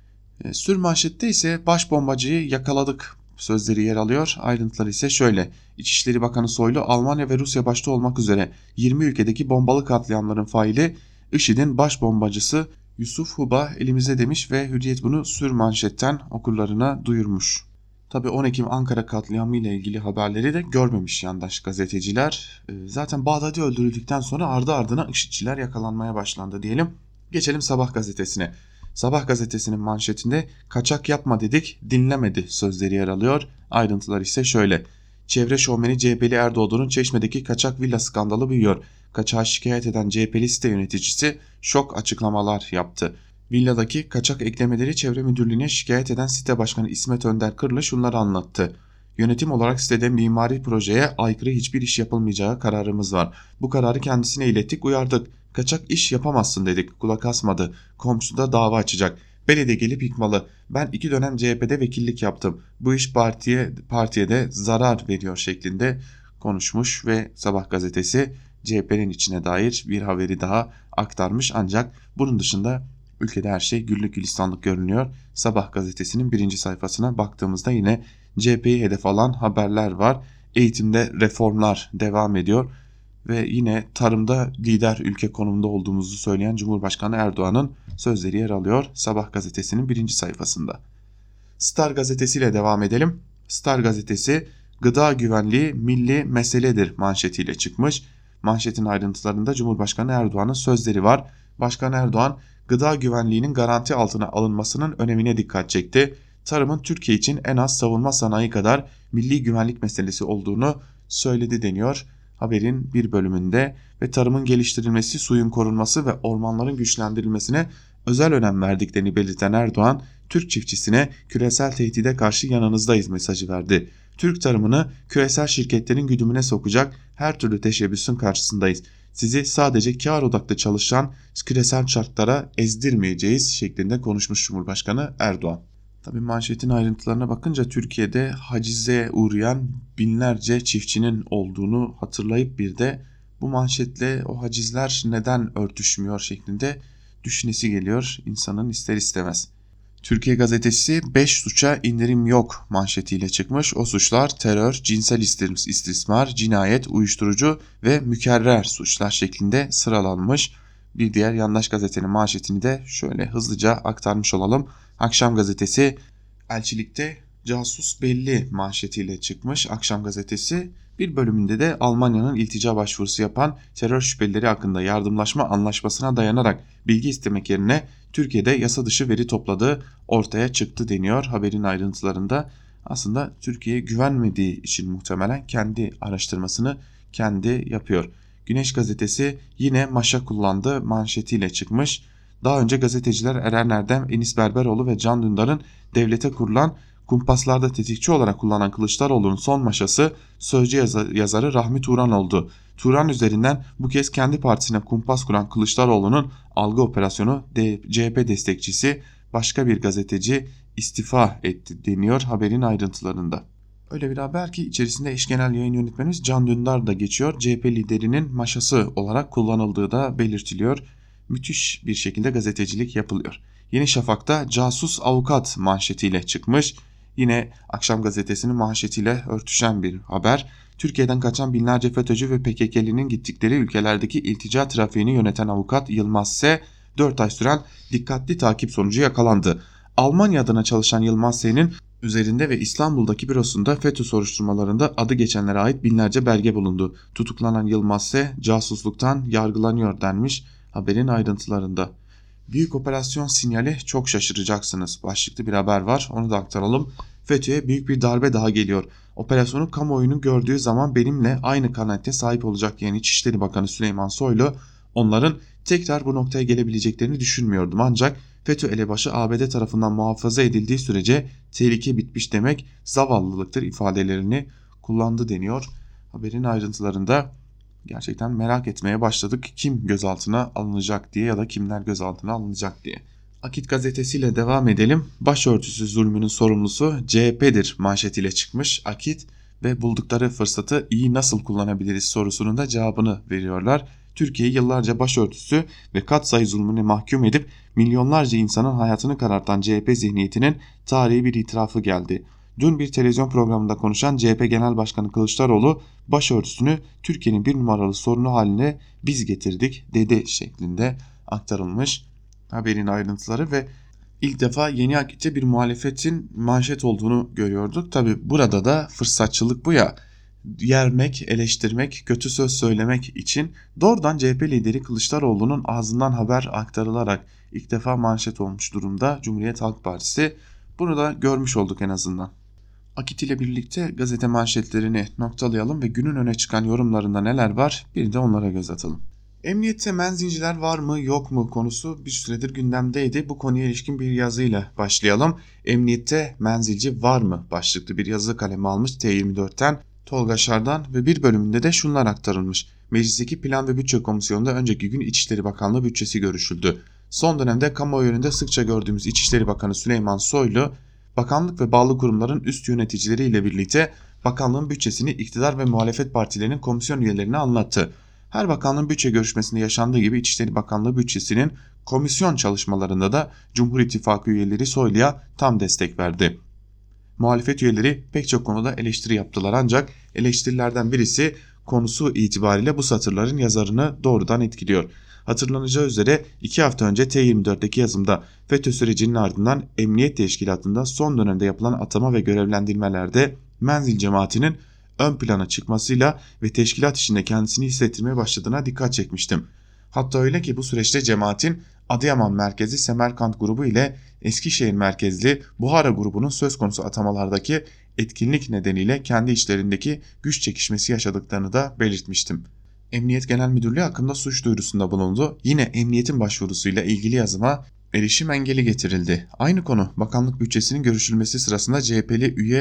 Sürmanşette ise baş bombacıyı yakaladık sözleri yer alıyor. Ayrıntılar ise şöyle. İçişleri Bakanı Soylu, Almanya ve Rusya başta olmak üzere 20 ülkedeki bombalı katliamların faili IŞİD'in baş bombacısı Yusuf Huba elimizde demiş ve Hürriyet bunu sürmanşetten okurlarına duyurmuş. Tabii 10 Ekim Ankara katliamı ile ilgili haberleri de görmemiş yandaş gazeteciler. Zaten Bağdadi öldürüldükten sonra ardı ardına IŞİD'çiler yakalanmaya başlandı diyelim. Geçelim Sabah gazetesine. Sabah gazetesinin manşetinde kaçak yapma dedik dinlemedi sözleri yer alıyor. Ayrıntılar ise şöyle. Çevre şovmeni CHP'li Erdoğdu'nun Çeşme'deki kaçak villa skandalı büyüyor. Kaçağı şikayet eden CHP'li site yöneticisi şok açıklamalar yaptı. Villadaki kaçak eklemeleri Çevre Müdürlüğü'ne şikayet eden site başkanı İsmet Önder Kırlı şunları anlattı. Yönetim olarak sitede mimari projeye aykırı hiçbir iş yapılmayacağı kararımız var. Bu kararı kendisine ilettik, uyardık. Kaçak iş yapamazsın dedik, kulak asmadı. Komşu da dava açacak. Belediye gelip yıkmalı. Ben 2 dönem CHP'de vekillik yaptım. Bu iş partiye de zarar veriyor şeklinde konuşmuş ve Sabah gazetesi CHP'nin içine dair bir haberi daha aktarmış. Ancak bunun dışında ülkede her şey güllük gülistanlık görünüyor. Sabah gazetesinin 1. sayfasına baktığımızda yine CHP'yi hedef alan haberler var. Eğitimde reformlar devam ediyor ve yine tarımda lider ülke konumunda olduğumuzu söyleyen Cumhurbaşkanı Erdoğan'ın sözleri yer alıyor Sabah gazetesinin 1. sayfasında. Star gazetesiyle devam edelim. Star gazetesi gıda güvenliği milli meseledir manşetiyle çıkmış. Manşetin ayrıntılarında Cumhurbaşkanı Erdoğan'ın sözleri var. Başkan Erdoğan gıda güvenliğinin garanti altına alınmasının önemine dikkat çekti. Tarımın Türkiye için en az savunma sanayi kadar milli güvenlik meselesi olduğunu söyledi deniyor haberin bir bölümünde ve tarımın geliştirilmesi, suyun korunması ve ormanların güçlendirilmesine özel önem verdiklerini belirten Erdoğan, Türk çiftçisine küresel tehdide karşı yanınızdayız mesajı verdi. Türk tarımını küresel şirketlerin güdümüne sokacak her türlü teşebbüsün karşısındayız. Sizi sadece kar odaklı çalışan küresel şartlara ezdirmeyeceğiz şeklinde konuşmuş Cumhurbaşkanı Erdoğan. Tabii manşetin ayrıntılarına bakınca Türkiye'de hacize uğrayan binlerce çiftçinin olduğunu hatırlayıp bir de bu manşetle o hacizler neden örtüşmüyor şeklinde düşünesi geliyor insanın ister istemez. Türkiye Gazetesi 5 suça indirim yok manşetiyle çıkmış. O suçlar terör, cinsel istismar, cinayet, uyuşturucu ve mükerrer suçlar şeklinde sıralanmış. Bir diğer yandaş gazetenin manşetini de şöyle hızlıca aktarmış olalım. Akşam Gazetesi elçilikte casus belli manşetiyle çıkmış. Akşam Gazetesi bir bölümünde de Almanya'nın iltica başvurusu yapan terör şüphelileri hakkında yardımlaşma anlaşmasına dayanarak bilgi istemek yerine Türkiye'de yasa dışı veri topladığı ortaya çıktı deniyor haberin ayrıntılarında. Aslında Türkiye'ye güvenmediği için muhtemelen kendi araştırmasını kendi yapıyor. Güneş Gazetesi yine maşa kullandı manşetiyle çıkmış. Daha önce gazeteciler Eren Erdem, Enis Berberoğlu ve Can Dündar'ın devlete kurulan kumpaslarda tetikçi olarak kullanan Kılıçdaroğlu'nun son maşası Sözcü yazarı Rahmi Turan oldu. Turan üzerinden bu kez kendi partisine kumpas kuran Kılıçdaroğlu'nun algı operasyonu CHP destekçisi başka bir gazeteci istifa etti deniyor haberin ayrıntılarında. Öyle bir haber ki içerisinde eş genel yayın yönetmenimiz Can Dündar da geçiyor. CHP liderinin maşası olarak kullanıldığı da belirtiliyor. Müthiş bir şekilde gazetecilik yapılıyor. Yeni Şafak'ta casus avukat manşetiyle çıkmış. Yine Akşam Gazetesi'nin manşetiyle örtüşen bir haber. Türkiye'den kaçan binlerce FETÖ'cü ve PKK'linin gittikleri ülkelerdeki iltica trafiğini yöneten avukat Yılmaz S. 4 ay süren dikkatli takip sonucu yakalandı. Almanya adına çalışan Yılmaz S.'nin üzerinde ve İstanbul'daki bürosunda FETÖ soruşturmalarında adı geçenlere ait binlerce belge bulundu. Tutuklanan Yılmaz S. casusluktan yargılanıyor denmiş haberin ayrıntılarında. Büyük operasyon sinyali çok şaşıracaksınız başlıklı bir haber var, onu da aktaralım. FETÖ'ye büyük bir darbe daha geliyor. Operasyonu kamuoyunun gördüğü zaman benimle aynı kanaate sahip olacak diyen İçişleri Bakanı Süleyman Soylu, onların tekrar bu noktaya gelebileceklerini düşünmüyordum ancak FETÖ elebaşı ABD tarafından muhafaza edildiği sürece tehlike bitmiş demek zavallılıktır ifadelerini kullandı deniyor. Haberin ayrıntılarında gerçekten merak etmeye başladık kim gözaltına alınacak diye ya da kimler gözaltına alınacak diye. Akit gazetesiyle devam edelim. Başörtüsü zulmünün sorumlusu CHP'dir manşetiyle çıkmış Akit ve buldukları fırsatı iyi nasıl kullanabiliriz sorusunun da cevabını veriyorlar. Türkiye'yi yıllarca başörtüsü ve katsayı zulmüne mahkum edip milyonlarca insanın hayatını karartan CHP zihniyetinin tarihi bir itirafı geldi. Dün bir televizyon programında konuşan CHP Genel Başkanı Kılıçdaroğlu başörtüsünü Türkiye'nin bir numaralı sorunu haline biz getirdik dedi şeklinde aktarılmış haberin ayrıntıları ve ilk defa Yeni Akit'te bir muhalefetin manşet olduğunu görüyorduk. Tabi burada da fırsatçılık bu ya, yermek, eleştirmek, kötü söz söylemek için doğrudan CHP lideri Kılıçdaroğlu'nun ağzından haber aktarılarak ilk defa manşet olmuş durumda Cumhuriyet Halk Partisi. Bunu da görmüş olduk en azından. Akit ile birlikte gazete manşetlerini noktalayalım ve günün öne çıkan yorumlarında neler var bir de onlara göz atalım. Emniyette menzinciler var mı yok mu konusu bir süredir gündemdeydi. Bu konuya ilişkin bir yazıyla başlayalım. Emniyette menzilci var mı başlıklı bir yazı kaleme almış T24'ten Tolga Şardan ve bir bölümünde de şunlar aktarılmış. Meclisteki Plan ve Bütçe Komisyonu'nda önceki gün İçişleri Bakanlığı bütçesi görüşüldü. Son dönemde kamuoyu önünde sıkça gördüğümüz İçişleri Bakanı Süleyman Soylu, bakanlık ve bağlı kurumların üst yöneticileriyle birlikte bakanlığın bütçesini iktidar ve muhalefet partilerinin komisyon üyelerine anlattı. Her bakanlığın bütçe görüşmesinde yaşandığı gibi İçişleri Bakanlığı bütçesinin komisyon çalışmalarında da Cumhur İttifakı üyeleri Soylu'ya tam destek verdi. Muhalefet üyeleri pek çok konuda eleştiri yaptılar ancak eleştirilerden birisi konusu itibariyle bu satırların yazarını doğrudan etkiliyor. Hatırlanacağı üzere 2 hafta önce T24'teki yazımda FETÖ sürecinin ardından Emniyet Teşkilatı'nda son dönemde yapılan atama ve görevlendirmelerde menzil cemaatinin ön plana çıkmasıyla ve teşkilat içinde kendisini hissettirmeye başladığına dikkat çekmiştim. Hatta öyle ki bu süreçte cemaatin Adıyaman merkezi Semerkant grubu ile Eskişehir merkezli Buhara grubunun söz konusu atamalardaki etkinlik nedeniyle kendi içlerindeki güç çekişmesi yaşadıklarını da belirtmiştim. Emniyet Genel Müdürlüğü hakkında suç duyurusunda bulundu. Yine emniyetin başvurusuyla ilgili yazıma erişim engeli getirildi. Aynı konu bakanlık bütçesinin görüşülmesi sırasında CHP'li üye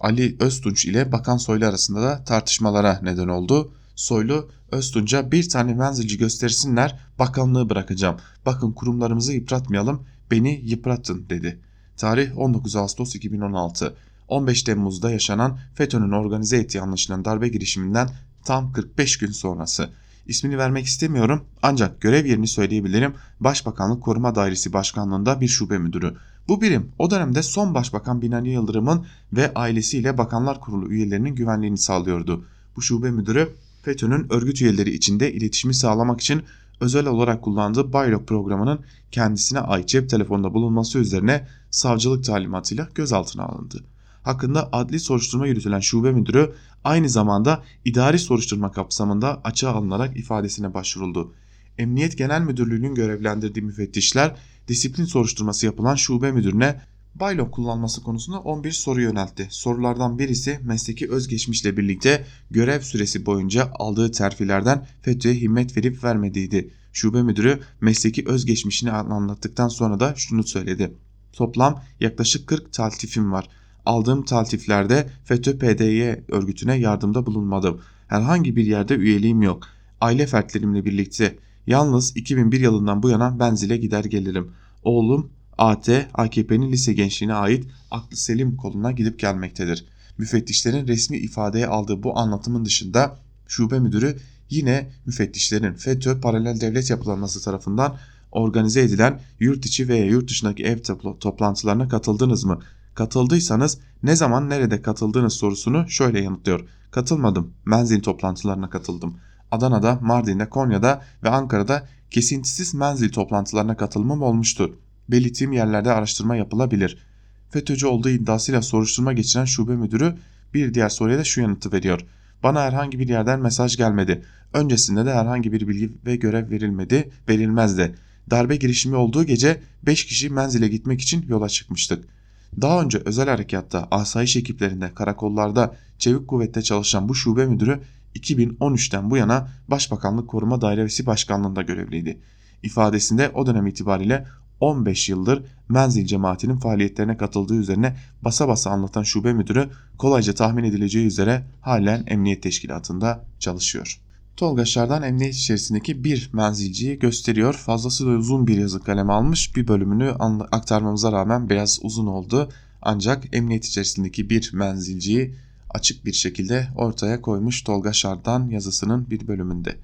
Ali Öztunç ile Bakan Soylu arasında da tartışmalara neden oldu. Soylu, Öztunç'a bir tane menzilci göstersinler, bakanlığı bırakacağım. Bakın kurumlarımızı yıpratmayalım, beni yıpratın dedi. Tarih 19 Ağustos 2016. 15 Temmuz'da yaşanan FETÖ'nün organize ettiği anlaşılan darbe girişiminden tam 45 gün sonrası. İsmini vermek istemiyorum ancak görev yerini söyleyebilirim. Başbakanlık Koruma Dairesi Başkanlığı'nda bir şube müdürü. Bu birim o dönemde son Başbakan Binali Yıldırım'ın ve ailesiyle Bakanlar Kurulu üyelerinin güvenliğini sağlıyordu. Bu şube müdürü FETÖ'nün örgüt üyeleri içinde iletişimi sağlamak için özel olarak kullandığı Baylok programının kendisine ait cep telefonunda bulunması üzerine savcılık talimatıyla gözaltına alındı. Hakkında adli soruşturma yürütülen şube müdürü aynı zamanda idari soruşturma kapsamında açığa alınarak ifadesine başvuruldu. Emniyet Genel Müdürlüğü'nün görevlendirdiği müfettişler disiplin soruşturması yapılan şube müdürüne Baylok kullanması konusunda 11 soru yöneltti. Sorulardan birisi mesleki özgeçmişle birlikte görev süresi boyunca aldığı terfilerden FETÖ'ye himmet verip vermediğiydi. Şube müdürü mesleki özgeçmişini anlattıktan sonra da şunu söyledi. Toplam yaklaşık 40 taltifim var. Aldığım taltiflerde FETÖ-PDY örgütüne yardımda bulunmadım. Herhangi bir yerde üyeliğim yok. Aile fertlerimle birlikte yalnız 2001 yılından bu yana Benzil'e gider gelirim. Oğlum AT, AKP'nin lise gençliğine ait aklı selim koluna gidip gelmektedir. Müfettişlerin resmi ifadeye aldığı bu anlatımın dışında şube müdürü yine müfettişlerin FETÖ paralel devlet yapılanması tarafından organize edilen yurt içi veya yurt dışındaki ev toplantılarına katıldınız mı? Katıldıysanız ne zaman nerede katıldığınız sorusunu şöyle yanıtlıyor. Katılmadım, menzil toplantılarına katıldım. Adana'da, Mardin'de, Konya'da ve Ankara'da kesintisiz menzil toplantılarına katılımım olmuştur. Belirttiğim yerlerde araştırma yapılabilir. FETÖ'cü olduğu iddiasıyla soruşturma geçiren şube müdürü bir diğer soruya da şu yanıtı veriyor. Bana herhangi bir yerden mesaj gelmedi. Öncesinde de herhangi bir bilgi ve görev verilmezdi. Darbe girişimi olduğu gece 5 kişi menzile gitmek için yola çıkmıştık. Daha önce özel harekatta, asayiş ekiplerinde, karakollarda, çevik kuvvette çalışan bu şube müdürü 2013'ten bu yana Başbakanlık Koruma Dairesi Başkanlığı'nda görevliydi. İfadesinde o dönem itibariyle 15 yıldır menzil cemaatinin faaliyetlerine katıldığı üzerine basa basa anlatan şube müdürü kolayca tahmin edileceği üzere halen emniyet teşkilatında çalışıyor. Tolga Şardan emniyet içerisindeki bir menzilciyi gösteriyor. Fazlasıyla uzun bir yazı kaleme almış. Bir bölümünü aktarmamıza rağmen biraz uzun oldu. Ancak emniyet içerisindeki bir menzilciyi açık bir şekilde ortaya koymuş Tolga Şardan yazısının bir bölümünde.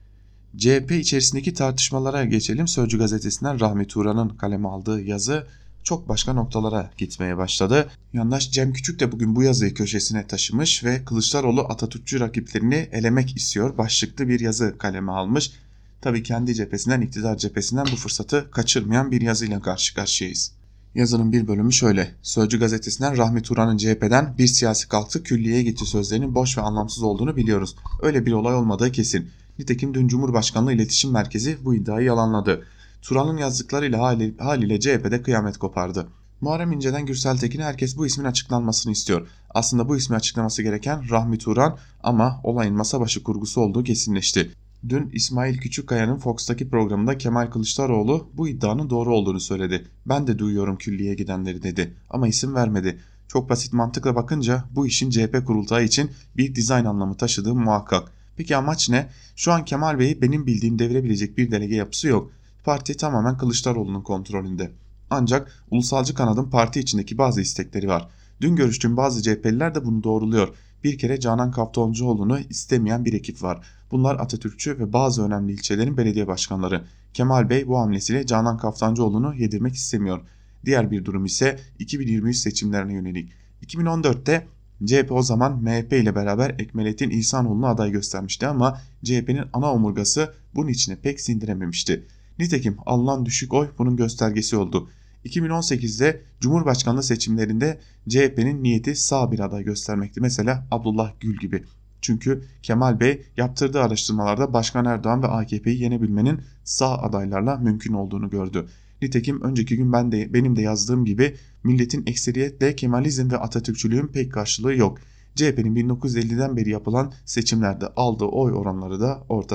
CHP içerisindeki tartışmalara geçelim. Sözcü gazetesinden Rahmi Turan'ın kaleme aldığı yazı çok başka noktalara gitmeye başladı. Yandaş Cem Küçük de bugün bu yazıyı köşesine taşımış ve Kılıçdaroğlu Atatürkçü rakiplerini elemek istiyor başlıklı bir yazı kaleme almış. Tabii kendi cephesinden, iktidar cephesinden bu fırsatı kaçırmayan bir yazıyla karşı karşıyayız. Yazının bir bölümü şöyle. Sözcü gazetesinden Rahmi Turan'ın CHP'den bir siyasi kalktı külliyeye gitti sözlerinin boş ve anlamsız olduğunu biliyoruz. Öyle bir olay olmadığı kesin. Nitekim dün Cumhurbaşkanlığı İletişim Merkezi bu iddiayı yalanladı. Turan'ın yazdıklarıyla haliyle CHP'de kıyamet kopardı. Muharrem İnce'den Gürsel Tekin'e herkes bu ismin açıklanmasını istiyor. Aslında bu ismi açıklaması gereken Rahmi Turan ama olayın masa başı kurgusu olduğu kesinleşti. Dün İsmail Küçükkaya'nın Fox'taki programında Kemal Kılıçdaroğlu bu iddianın doğru olduğunu söyledi. Ben de duyuyorum külliyeye gidenleri dedi ama isim vermedi. Çok basit mantıkla bakınca bu işin CHP kurultayı için bir dizayn anlamı taşıdığı muhakkak. Peki amaç ne? Şu an Kemal Bey'i benim bildiğim devirebilecek bir delege yapısı yok. Parti tamamen Kılıçdaroğlu'nun kontrolünde. Ancak ulusalcı kanadın parti içindeki bazı istekleri var. Dün görüştüğüm bazı CHP'liler de bunu doğruluyor. Bir kere Canan Kaftancıoğlu'nu istemeyen bir ekip var. Bunlar Atatürkçü ve bazı önemli ilçelerin belediye başkanları. Kemal Bey bu hamlesiyle Canan Kaftancıoğlu'nu yedirmek istemiyor. Diğer bir durum ise 2023 seçimlerine yönelik. 2014'te CHP o zaman MHP ile beraber Ekmelettin İhsanoğlu'nu aday göstermişti ama CHP'nin ana omurgası bunun içine pek sindirememişti. Nitekim alınan düşük oy bunun göstergesi oldu. 2018'de Cumhurbaşkanlığı seçimlerinde CHP'nin niyeti sağ bir aday göstermekti. Mesela Abdullah Gül gibi. Çünkü Kemal Bey yaptırdığı araştırmalarda Başkan Erdoğan ve AKP'yi yenebilmenin sağ adaylarla mümkün olduğunu gördü. Nitekim önceki gün benim de yazdığım gibi milletin ekseriyetle Kemalizm ve Atatürkçülüğün pek karşılığı yok. CHP'nin 1950'den beri yapılan seçimlerde aldığı oy oranları da ortada.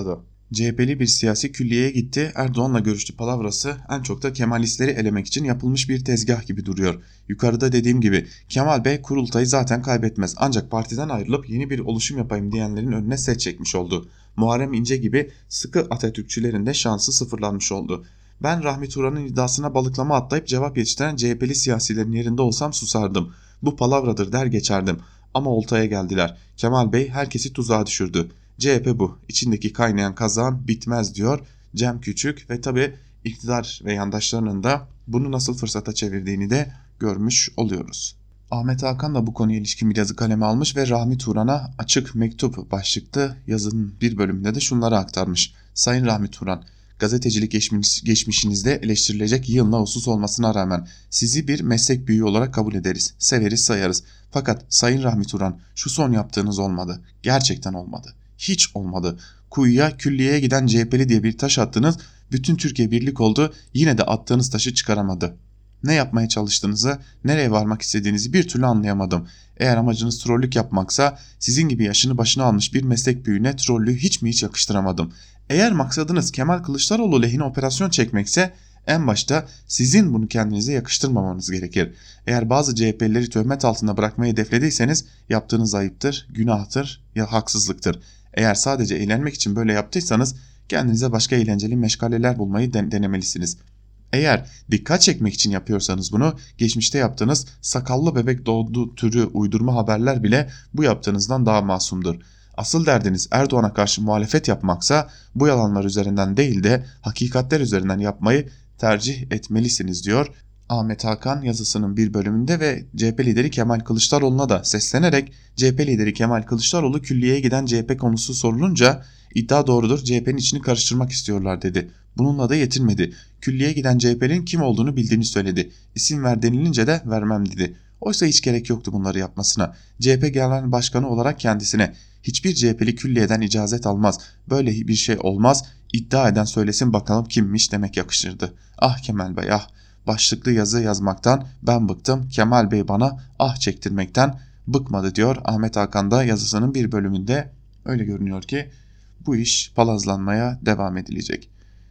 CHP'li bir siyasi külliyeye gitti, Erdoğan'la görüştü palavrası en çok da Kemalistleri elemek için yapılmış bir tezgah gibi duruyor. Yukarıda dediğim gibi Kemal Bey kurultayı zaten kaybetmez, ancak partiden ayrılıp yeni bir oluşum yapayım diyenlerin önüne set çekmiş oldu. Muharrem İnce gibi sıkı Atatürkçülerin de şansı sıfırlanmış oldu. Ben Rahmi Turan'ın iddiasına balıklama atlayıp cevap yetiştiren CHP'li siyasilerin yerinde olsam susardım. Bu palavradır der geçerdim. Ama oltaya geldiler. Kemal Bey herkesi tuzağa düşürdü. CHP bu. İçindeki kaynayan kazan bitmez diyor Cem Küçük ve tabi iktidar ve yandaşlarının da bunu nasıl fırsata çevirdiğini de görmüş oluyoruz. Ahmet Hakan da bu konuya ilişkin bir yazı kaleme almış ve Rahmi Turan'a açık mektup başlıklı yazının bir bölümünde de şunları aktarmış. Sayın Rahmi Turan, gazetecilik geçmişinizde eleştirilecek yığınla husus olmasına rağmen sizi bir meslek büyüğü olarak kabul ederiz, severiz, sayarız. Fakat Sayın Rahmi Turan, şu son yaptığınız olmadı. Gerçekten olmadı. Hiç olmadı. Kuyuya, külliyeye giden CHP'li diye bir taş attınız, bütün Türkiye birlik oldu, yine de attığınız taşı çıkaramadı. Ne yapmaya çalıştığınızı, nereye varmak istediğinizi bir türlü anlayamadım. Eğer amacınız trollük yapmaksa, sizin gibi yaşını başına almış bir meslek büyüğüne trollüğü hiç mi hiç yakıştıramadım. Eğer maksadınız Kemal Kılıçdaroğlu lehine operasyon çekmekse, en başta sizin bunu kendinize yakıştırmamanız gerekir. Eğer bazı CHP'lileri töhmet altında bırakmayı hedeflediyseniz yaptığınız ayıptır, günahtır ya haksızlıktır. Eğer sadece eğlenmek için böyle yaptıysanız kendinize başka eğlenceli meşgaleler bulmayı denemelisiniz. Eğer dikkat çekmek için yapıyorsanız bunu, geçmişte yaptığınız sakallı bebek doğdu türü uydurma haberler bile bu yaptığınızdan daha masumdur. Asıl derdiniz Erdoğan'a karşı muhalefet yapmaksa bu yalanlar üzerinden değil de hakikatler üzerinden yapmayı tercih etmelisiniz diyor Ahmet Hakan yazısının bir bölümünde ve CHP lideri Kemal Kılıçdaroğlu'na da seslenerek CHP lideri Kemal Kılıçdaroğlu külliyeye giden CHP konusu sorulunca iddia doğrudur, CHP'nin içini karıştırmak istiyorlar dedi. Bununla da yetinmedi. Külliyeye giden CHP'nin kim olduğunu bildiğini söyledi. İsim ver denilince de vermem dedi. Oysa hiç gerek yoktu bunları yapmasına. CHP Genel Başkanı olarak kendisine hiçbir CHP'li külliyeden icazet almaz, böyle bir şey olmaz, iddia eden söylesin bakalım kimmiş demek yakışırdı. Ah Kemal Bey ah, başlıklı yazı yazmaktan ben bıktım, Kemal Bey bana ah çektirmekten bıkmadı diyor Ahmet Hakan da yazısının bir bölümünde. Öyle görünüyor ki bu iş palazlanmaya devam edilecek.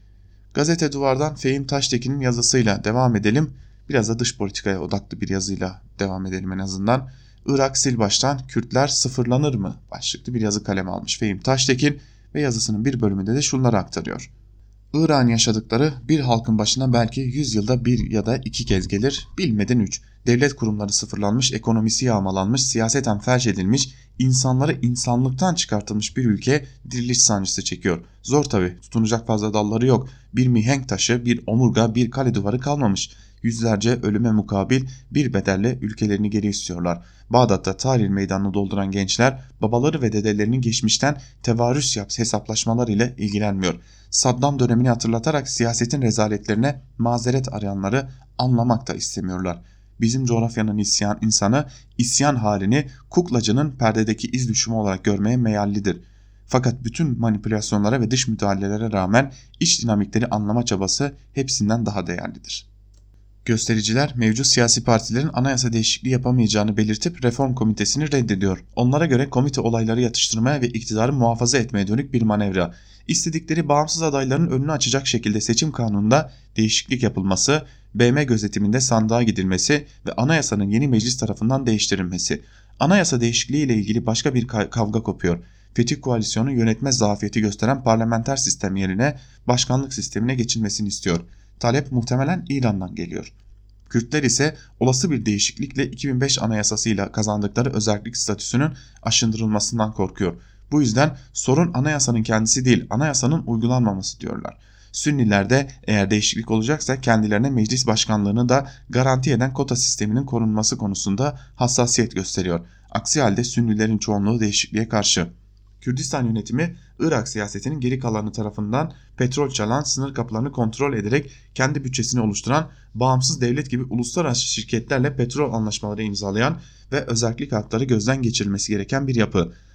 Gazete Duvar'dan Fehim Taştekin'in yazısıyla devam edelim. Biraz da dış politikaya odaklı bir yazıyla devam edelim en azından. Irak sil baştan, Kürtler sıfırlanır mı? Başlıklı bir yazı kaleme almış Fehim Taştekin ve yazısının bir bölümünde de şunları aktarıyor. Irak'ın yaşadıkları bir halkın başına belki 100 yılda bir ya da iki kez gelir, bilmeden 3. Devlet kurumları sıfırlanmış, ekonomisi yağmalanmış, siyaseten felç edilmiş, insanları insanlıktan çıkartılmış bir ülke diriliş sancısı çekiyor. Zor tabi, tutunacak fazla dalları yok. Bir mihenk taşı, bir omurga, bir kale duvarı kalmamış. Yüzlerce ölüme mukabil bir bedelle ülkelerini geri istiyorlar. Bağdat'ta Tahrir meydanını dolduran gençler babaları ve dedelerinin geçmişten tevarüs hesaplaşmalar ile ilgilenmiyor. Saddam dönemini hatırlatarak siyasetin rezaletlerine mazeret arayanları anlamak da istemiyorlar. Bizim coğrafyanın insanı isyan halini kuklacının perdedeki iz düşümü olarak görmeye meyallidir. Fakat bütün manipülasyonlara ve dış müdahalelere rağmen iç dinamikleri anlama çabası hepsinden daha değerlidir. Göstericiler mevcut siyasi partilerin anayasa değişikliği yapamayacağını belirtip reform komitesini reddediyor. Onlara göre komite olayları yatıştırmaya ve iktidarı muhafaza etmeye dönük bir manevra. İstedikleri bağımsız adayların önünü açacak şekilde seçim kanununda değişiklik yapılması, BM gözetiminde sandığa gidilmesi ve anayasanın yeni meclis tarafından değiştirilmesi. Anayasa değişikliği ile ilgili başka bir kavga kopuyor. Fetih Koalisyonu yönetmez zafiyeti gösteren parlamenter sistem yerine başkanlık sistemine geçilmesini istiyor. Talep muhtemelen İran'dan geliyor. Kürtler ise olası bir değişiklikle 2005 anayasasıyla kazandıkları özerklik statüsünün aşındırılmasından korkuyor. Bu yüzden sorun anayasanın kendisi değil, anayasanın uygulanmaması diyorlar. Sünniler de eğer değişiklik olacaksa kendilerine meclis başkanlığını da garanti eden kota sisteminin korunması konusunda hassasiyet gösteriyor. Aksi halde Sünnilerin çoğunluğu değişikliğe karşı. Kürdistan yönetimi Irak siyasetinin geri kalanı tarafından petrol çalan, sınır kapılarını kontrol ederek kendi bütçesini oluşturan, bağımsız devlet gibi uluslararası şirketlerle petrol anlaşmaları imzalayan ve özerklik hakları gözden geçirilmesi gereken bir yapı.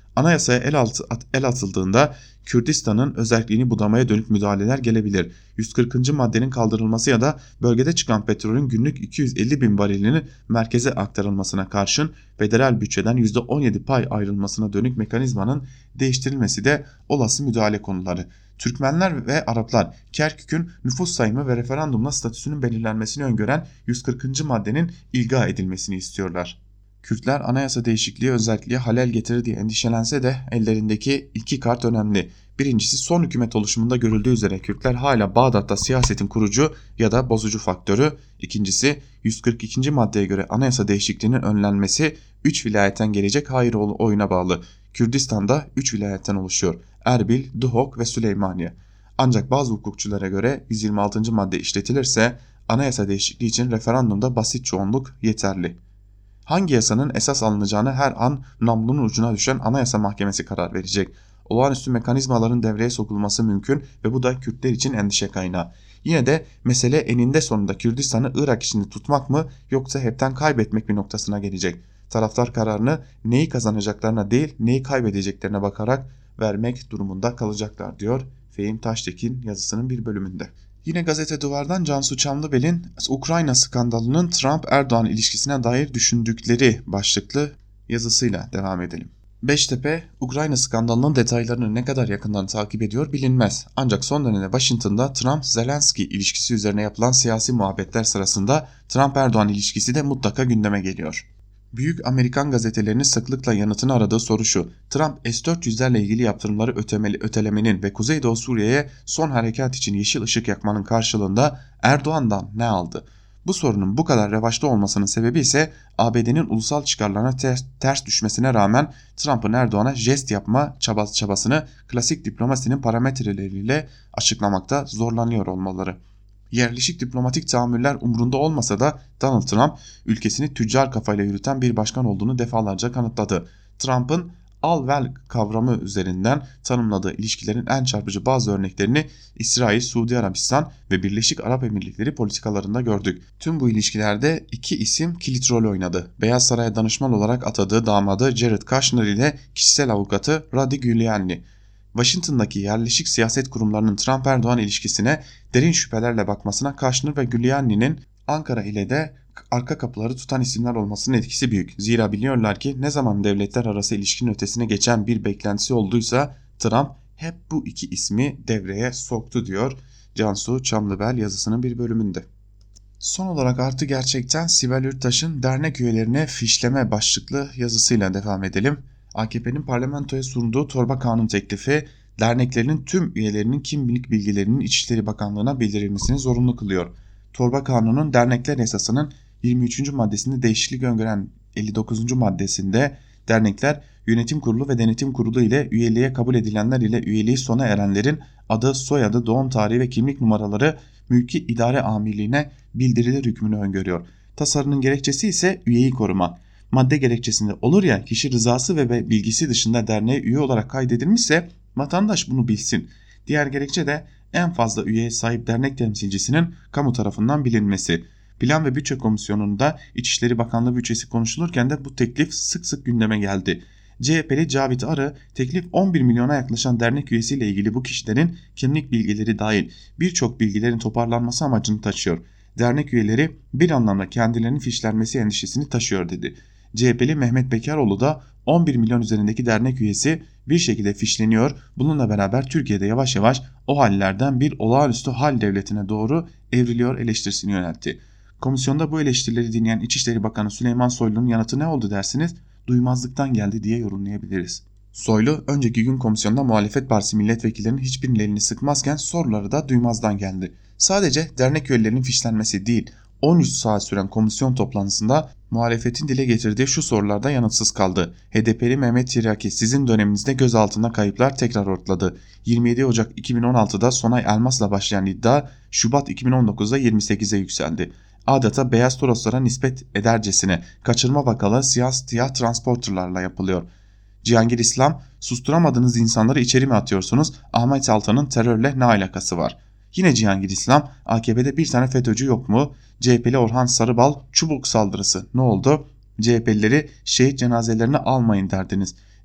Anayasaya el atıldığında Kürdistan'ın özelliğini budamaya dönük müdahaleler gelebilir. 140. maddenin kaldırılması ya da bölgede çıkan petrolün günlük 250 bin varilinin merkeze aktarılmasına karşın federal bütçeden %17 pay ayrılmasına dönük mekanizmanın değiştirilmesi de olası müdahale konuları. Türkmenler ve Araplar Kerkük'ün nüfus sayımı ve referandumla statüsünün belirlenmesini öngören 140. maddenin ilga edilmesini istiyorlar. Kürtler anayasa değişikliği özelliğe halel getirir diye endişelense de ellerindeki iki kart önemli. Birincisi, son hükümet oluşumunda görüldüğü üzere Kürtler hala Bağdat'ta siyasetin kurucu ya da bozucu faktörü. İkincisi, 142. maddeye göre anayasa değişikliğinin önlenmesi 3 vilayetten gelecek hayır oyuna bağlı. Kürdistan'da 3 vilayetten oluşuyor: Erbil, Duhok ve Süleymaniye. Ancak bazı hukukçulara göre 126. madde işletilirse anayasa değişikliği için referandumda basit çoğunluk yeterli. Hangi yasanın esas alınacağını her an namlunun ucuna düşen Anayasa Mahkemesi karar verecek. Olağanüstü mekanizmaların devreye sokulması mümkün ve bu da Kürtler için endişe kaynağı. Yine de mesele eninde sonunda Kürdistan'ı Irak içinde tutmak mı yoksa hepten kaybetmek mi noktasına gelecek. Taraftar kararını neyi kazanacaklarına değil neyi kaybedeceklerine bakarak vermek durumunda kalacaklar diyor Fehim Taştekin yazısının bir bölümünde. Yine Gazete Duvar'dan Cansu Çamlıbel'in Ukrayna skandalının Trump-Erdoğan ilişkisine dair düşündükleri başlıklı yazısıyla devam edelim. Beştepe, Ukrayna skandalının detaylarını ne kadar yakından takip ediyor bilinmez. Ancak son dönemde Washington'da Trump-Zelenski ilişkisi üzerine yapılan siyasi muhabbetler sırasında Trump-Erdoğan ilişkisi de mutlaka gündeme geliyor. Büyük Amerikan gazetelerinin sıklıkla yanıtını aradığı soru şu: Trump S-400'lerle ilgili yaptırımları ötelemenin ve Kuzeydoğu Suriye'ye son harekat için yeşil ışık yakmanın karşılığında Erdoğan'dan ne aldı? Bu sorunun bu kadar revaçta olmasının sebebi ise ABD'nin ulusal çıkarlarına ters düşmesine rağmen Trump'ın Erdoğan'a jest yapma çabasını klasik diplomasinin parametreleriyle açıklamakta zorlanıyor olmaları. Yerleşik diplomatik tahammüller umrunda olmasa da Donald Trump ülkesini tüccar kafayla yürüten bir başkan olduğunu defalarca kanıtladı. Trump'ın al-vel kavramı üzerinden tanımladığı ilişkilerin en çarpıcı bazı örneklerini İsrail, Suudi Arabistan ve Birleşik Arap Emirlikleri politikalarında gördük. Tüm bu ilişkilerde iki isim kilit rol oynadı. Beyaz Saray'a danışman olarak atadığı damadı Jared Kushner ile kişisel avukatı Rudy Giuliani. Washington'daki yerleşik siyaset kurumlarının Trump-Erdoğan ilişkisine derin şüphelerle bakmasına Kushner ve Giuliani'nin Ankara ile de arka kapıları tutan isimler olmasının etkisi büyük. Zira biliyorlar ki ne zaman devletler arası ilişkinin ötesine geçen bir beklentisi olduysa Trump hep bu iki ismi devreye soktu diyor Cansu Çamlıbel yazısının bir bölümünde. Son olarak Artı Gerçek'ten Sibel Ürttaş'ın dernek üyelerine fişleme başlıklı yazısıyla devam edelim. AKP'nin parlamentoya sunduğu torba kanun teklifi derneklerin tüm üyelerinin kimlik bilgilerinin İçişleri Bakanlığı'na bildirilmesini zorunlu kılıyor. Torba kanunun dernekler yasasının 23. maddesinde değişiklik öngören 59. maddesinde dernekler yönetim kurulu ve denetim kurulu ile üyeliğe kabul edilenler ile üyeliği sona erenlerin adı, soyadı, doğum tarihi ve kimlik numaraları mülki idare amirliğine bildirilir hükmünü öngörüyor. Tasarının gerekçesi ise üyeyi koruma. Madde gerekçesinde olur ya kişi rızası ve bilgisi dışında derneğe üye olarak kaydedilmişse vatandaş bunu bilsin. Diğer gerekçe de en fazla üyeye sahip dernek temsilcisinin kamu tarafından bilinmesi. Plan ve Bütçe Komisyonu'nda İçişleri Bakanlığı bütçesi konuşulurken de bu teklif sık sık gündeme geldi. CHP'li Cavit Arı teklif 11 milyona yaklaşan dernek üyesiyle ilgili bu kişilerin kimlik bilgileri dahil birçok bilgilerin toparlanması amacını taşıyor. Dernek üyeleri bir anlamda kendilerinin fişlenmesi endişesini taşıyor dedi. CHP'li Mehmet Bekaroğlu da 11 milyon üzerindeki dernek üyesi bir şekilde fişleniyor. Bununla beraber Türkiye'de yavaş yavaş o hallerden bir olağanüstü hal devletine doğru evriliyor eleştirisini yöneltti. Komisyonda bu eleştirileri dinleyen İçişleri Bakanı Süleyman Soylu'nun yanıtı ne oldu dersiniz? Duymazlıktan geldi diye yorumlayabiliriz. Soylu önceki gün komisyonda muhalefet partisi milletvekillerinin hiçbirinin elini sıkmazken soruları da duymazdan geldi. Sadece dernek üyelerinin fişlenmesi değil, 13 saat süren komisyon toplantısında muhalefetin dile getirdiği şu sorularda yanıtsız kaldı. HDP'li Mehmet Tiryaki sizin döneminizde gözaltında kayıplar tekrar ortaladı. 27 Ocak 2016'da Sonay Elmas'la başlayan iddia Şubat 2019'da 28'e yükseldi. Adeta beyaz toroslara nispet edercesine kaçırma vakaları siyah transporterlarla yapılıyor. Cihangir İslam susturamadığınız insanları içeri mi atıyorsunuz? Ahmet Altan'ın terörle ne alakası var? Yine Cihangir İslam AKP'de bir tane FETÖ'cü yok mu? CHP'li Orhan Sarıbal çubuk saldırısı ne oldu? CHP'lileri şehit cenazelerini almayın derdiniz.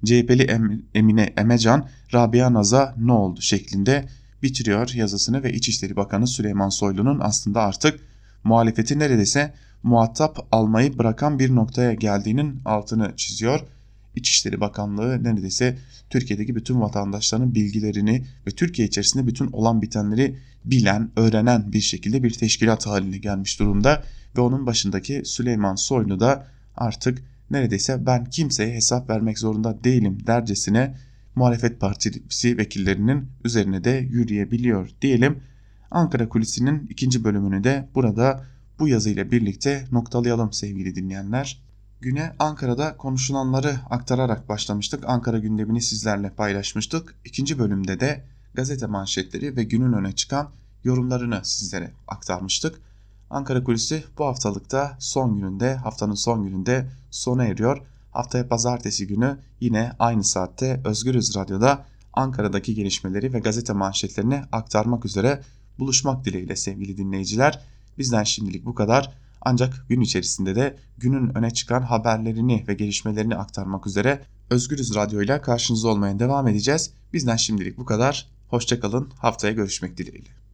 CHP'li Emine Emecan, Rabia Naz'a ne oldu şeklinde bitiriyor yazısını ve İçişleri Bakanı Süleyman Soylu'nun aslında artık muhalefeti neredeyse muhatap almayı bırakan bir noktaya geldiğinin altını çiziyor. İçişleri Bakanlığı neredeyse Türkiye'deki bütün vatandaşların bilgilerini ve Türkiye içerisinde bütün olan bitenleri bilen, öğrenen bir şekilde bir teşkilat haline gelmiş durumda ve onun başındaki Süleyman Soylu da artık neredeyse ben kimseye hesap vermek zorunda değilim dercesine muhalefet partisi vekillerinin üzerine de yürüyebiliyor diyelim. Ankara Kulisi'nin ikinci bölümünü de burada bu yazıyla birlikte noktalayalım sevgili dinleyenler. Güne Ankara'da konuşulanları aktararak başlamıştık. Ankara gündemini sizlerle paylaşmıştık. İkinci bölümde de gazete manşetleri ve günün öne çıkan yorumlarını sizlere aktarmıştık. Ankara Kulisi bu haftalıkta haftanın son gününde sona eriyor. Haftaya pazartesi günü yine aynı saatte Özgürüz Radyo'da Ankara'daki gelişmeleri ve gazete manşetlerini aktarmak üzere buluşmak dileğiyle sevgili dinleyiciler. Bizden şimdilik bu kadar. Ancak gün içerisinde de günün öne çıkan haberlerini ve gelişmelerini aktarmak üzere Özgürüz Radyo ile karşınızda olmaya devam edeceğiz. Bizden şimdilik bu kadar. Hoşça kalın. Haftaya görüşmek dileğiyle.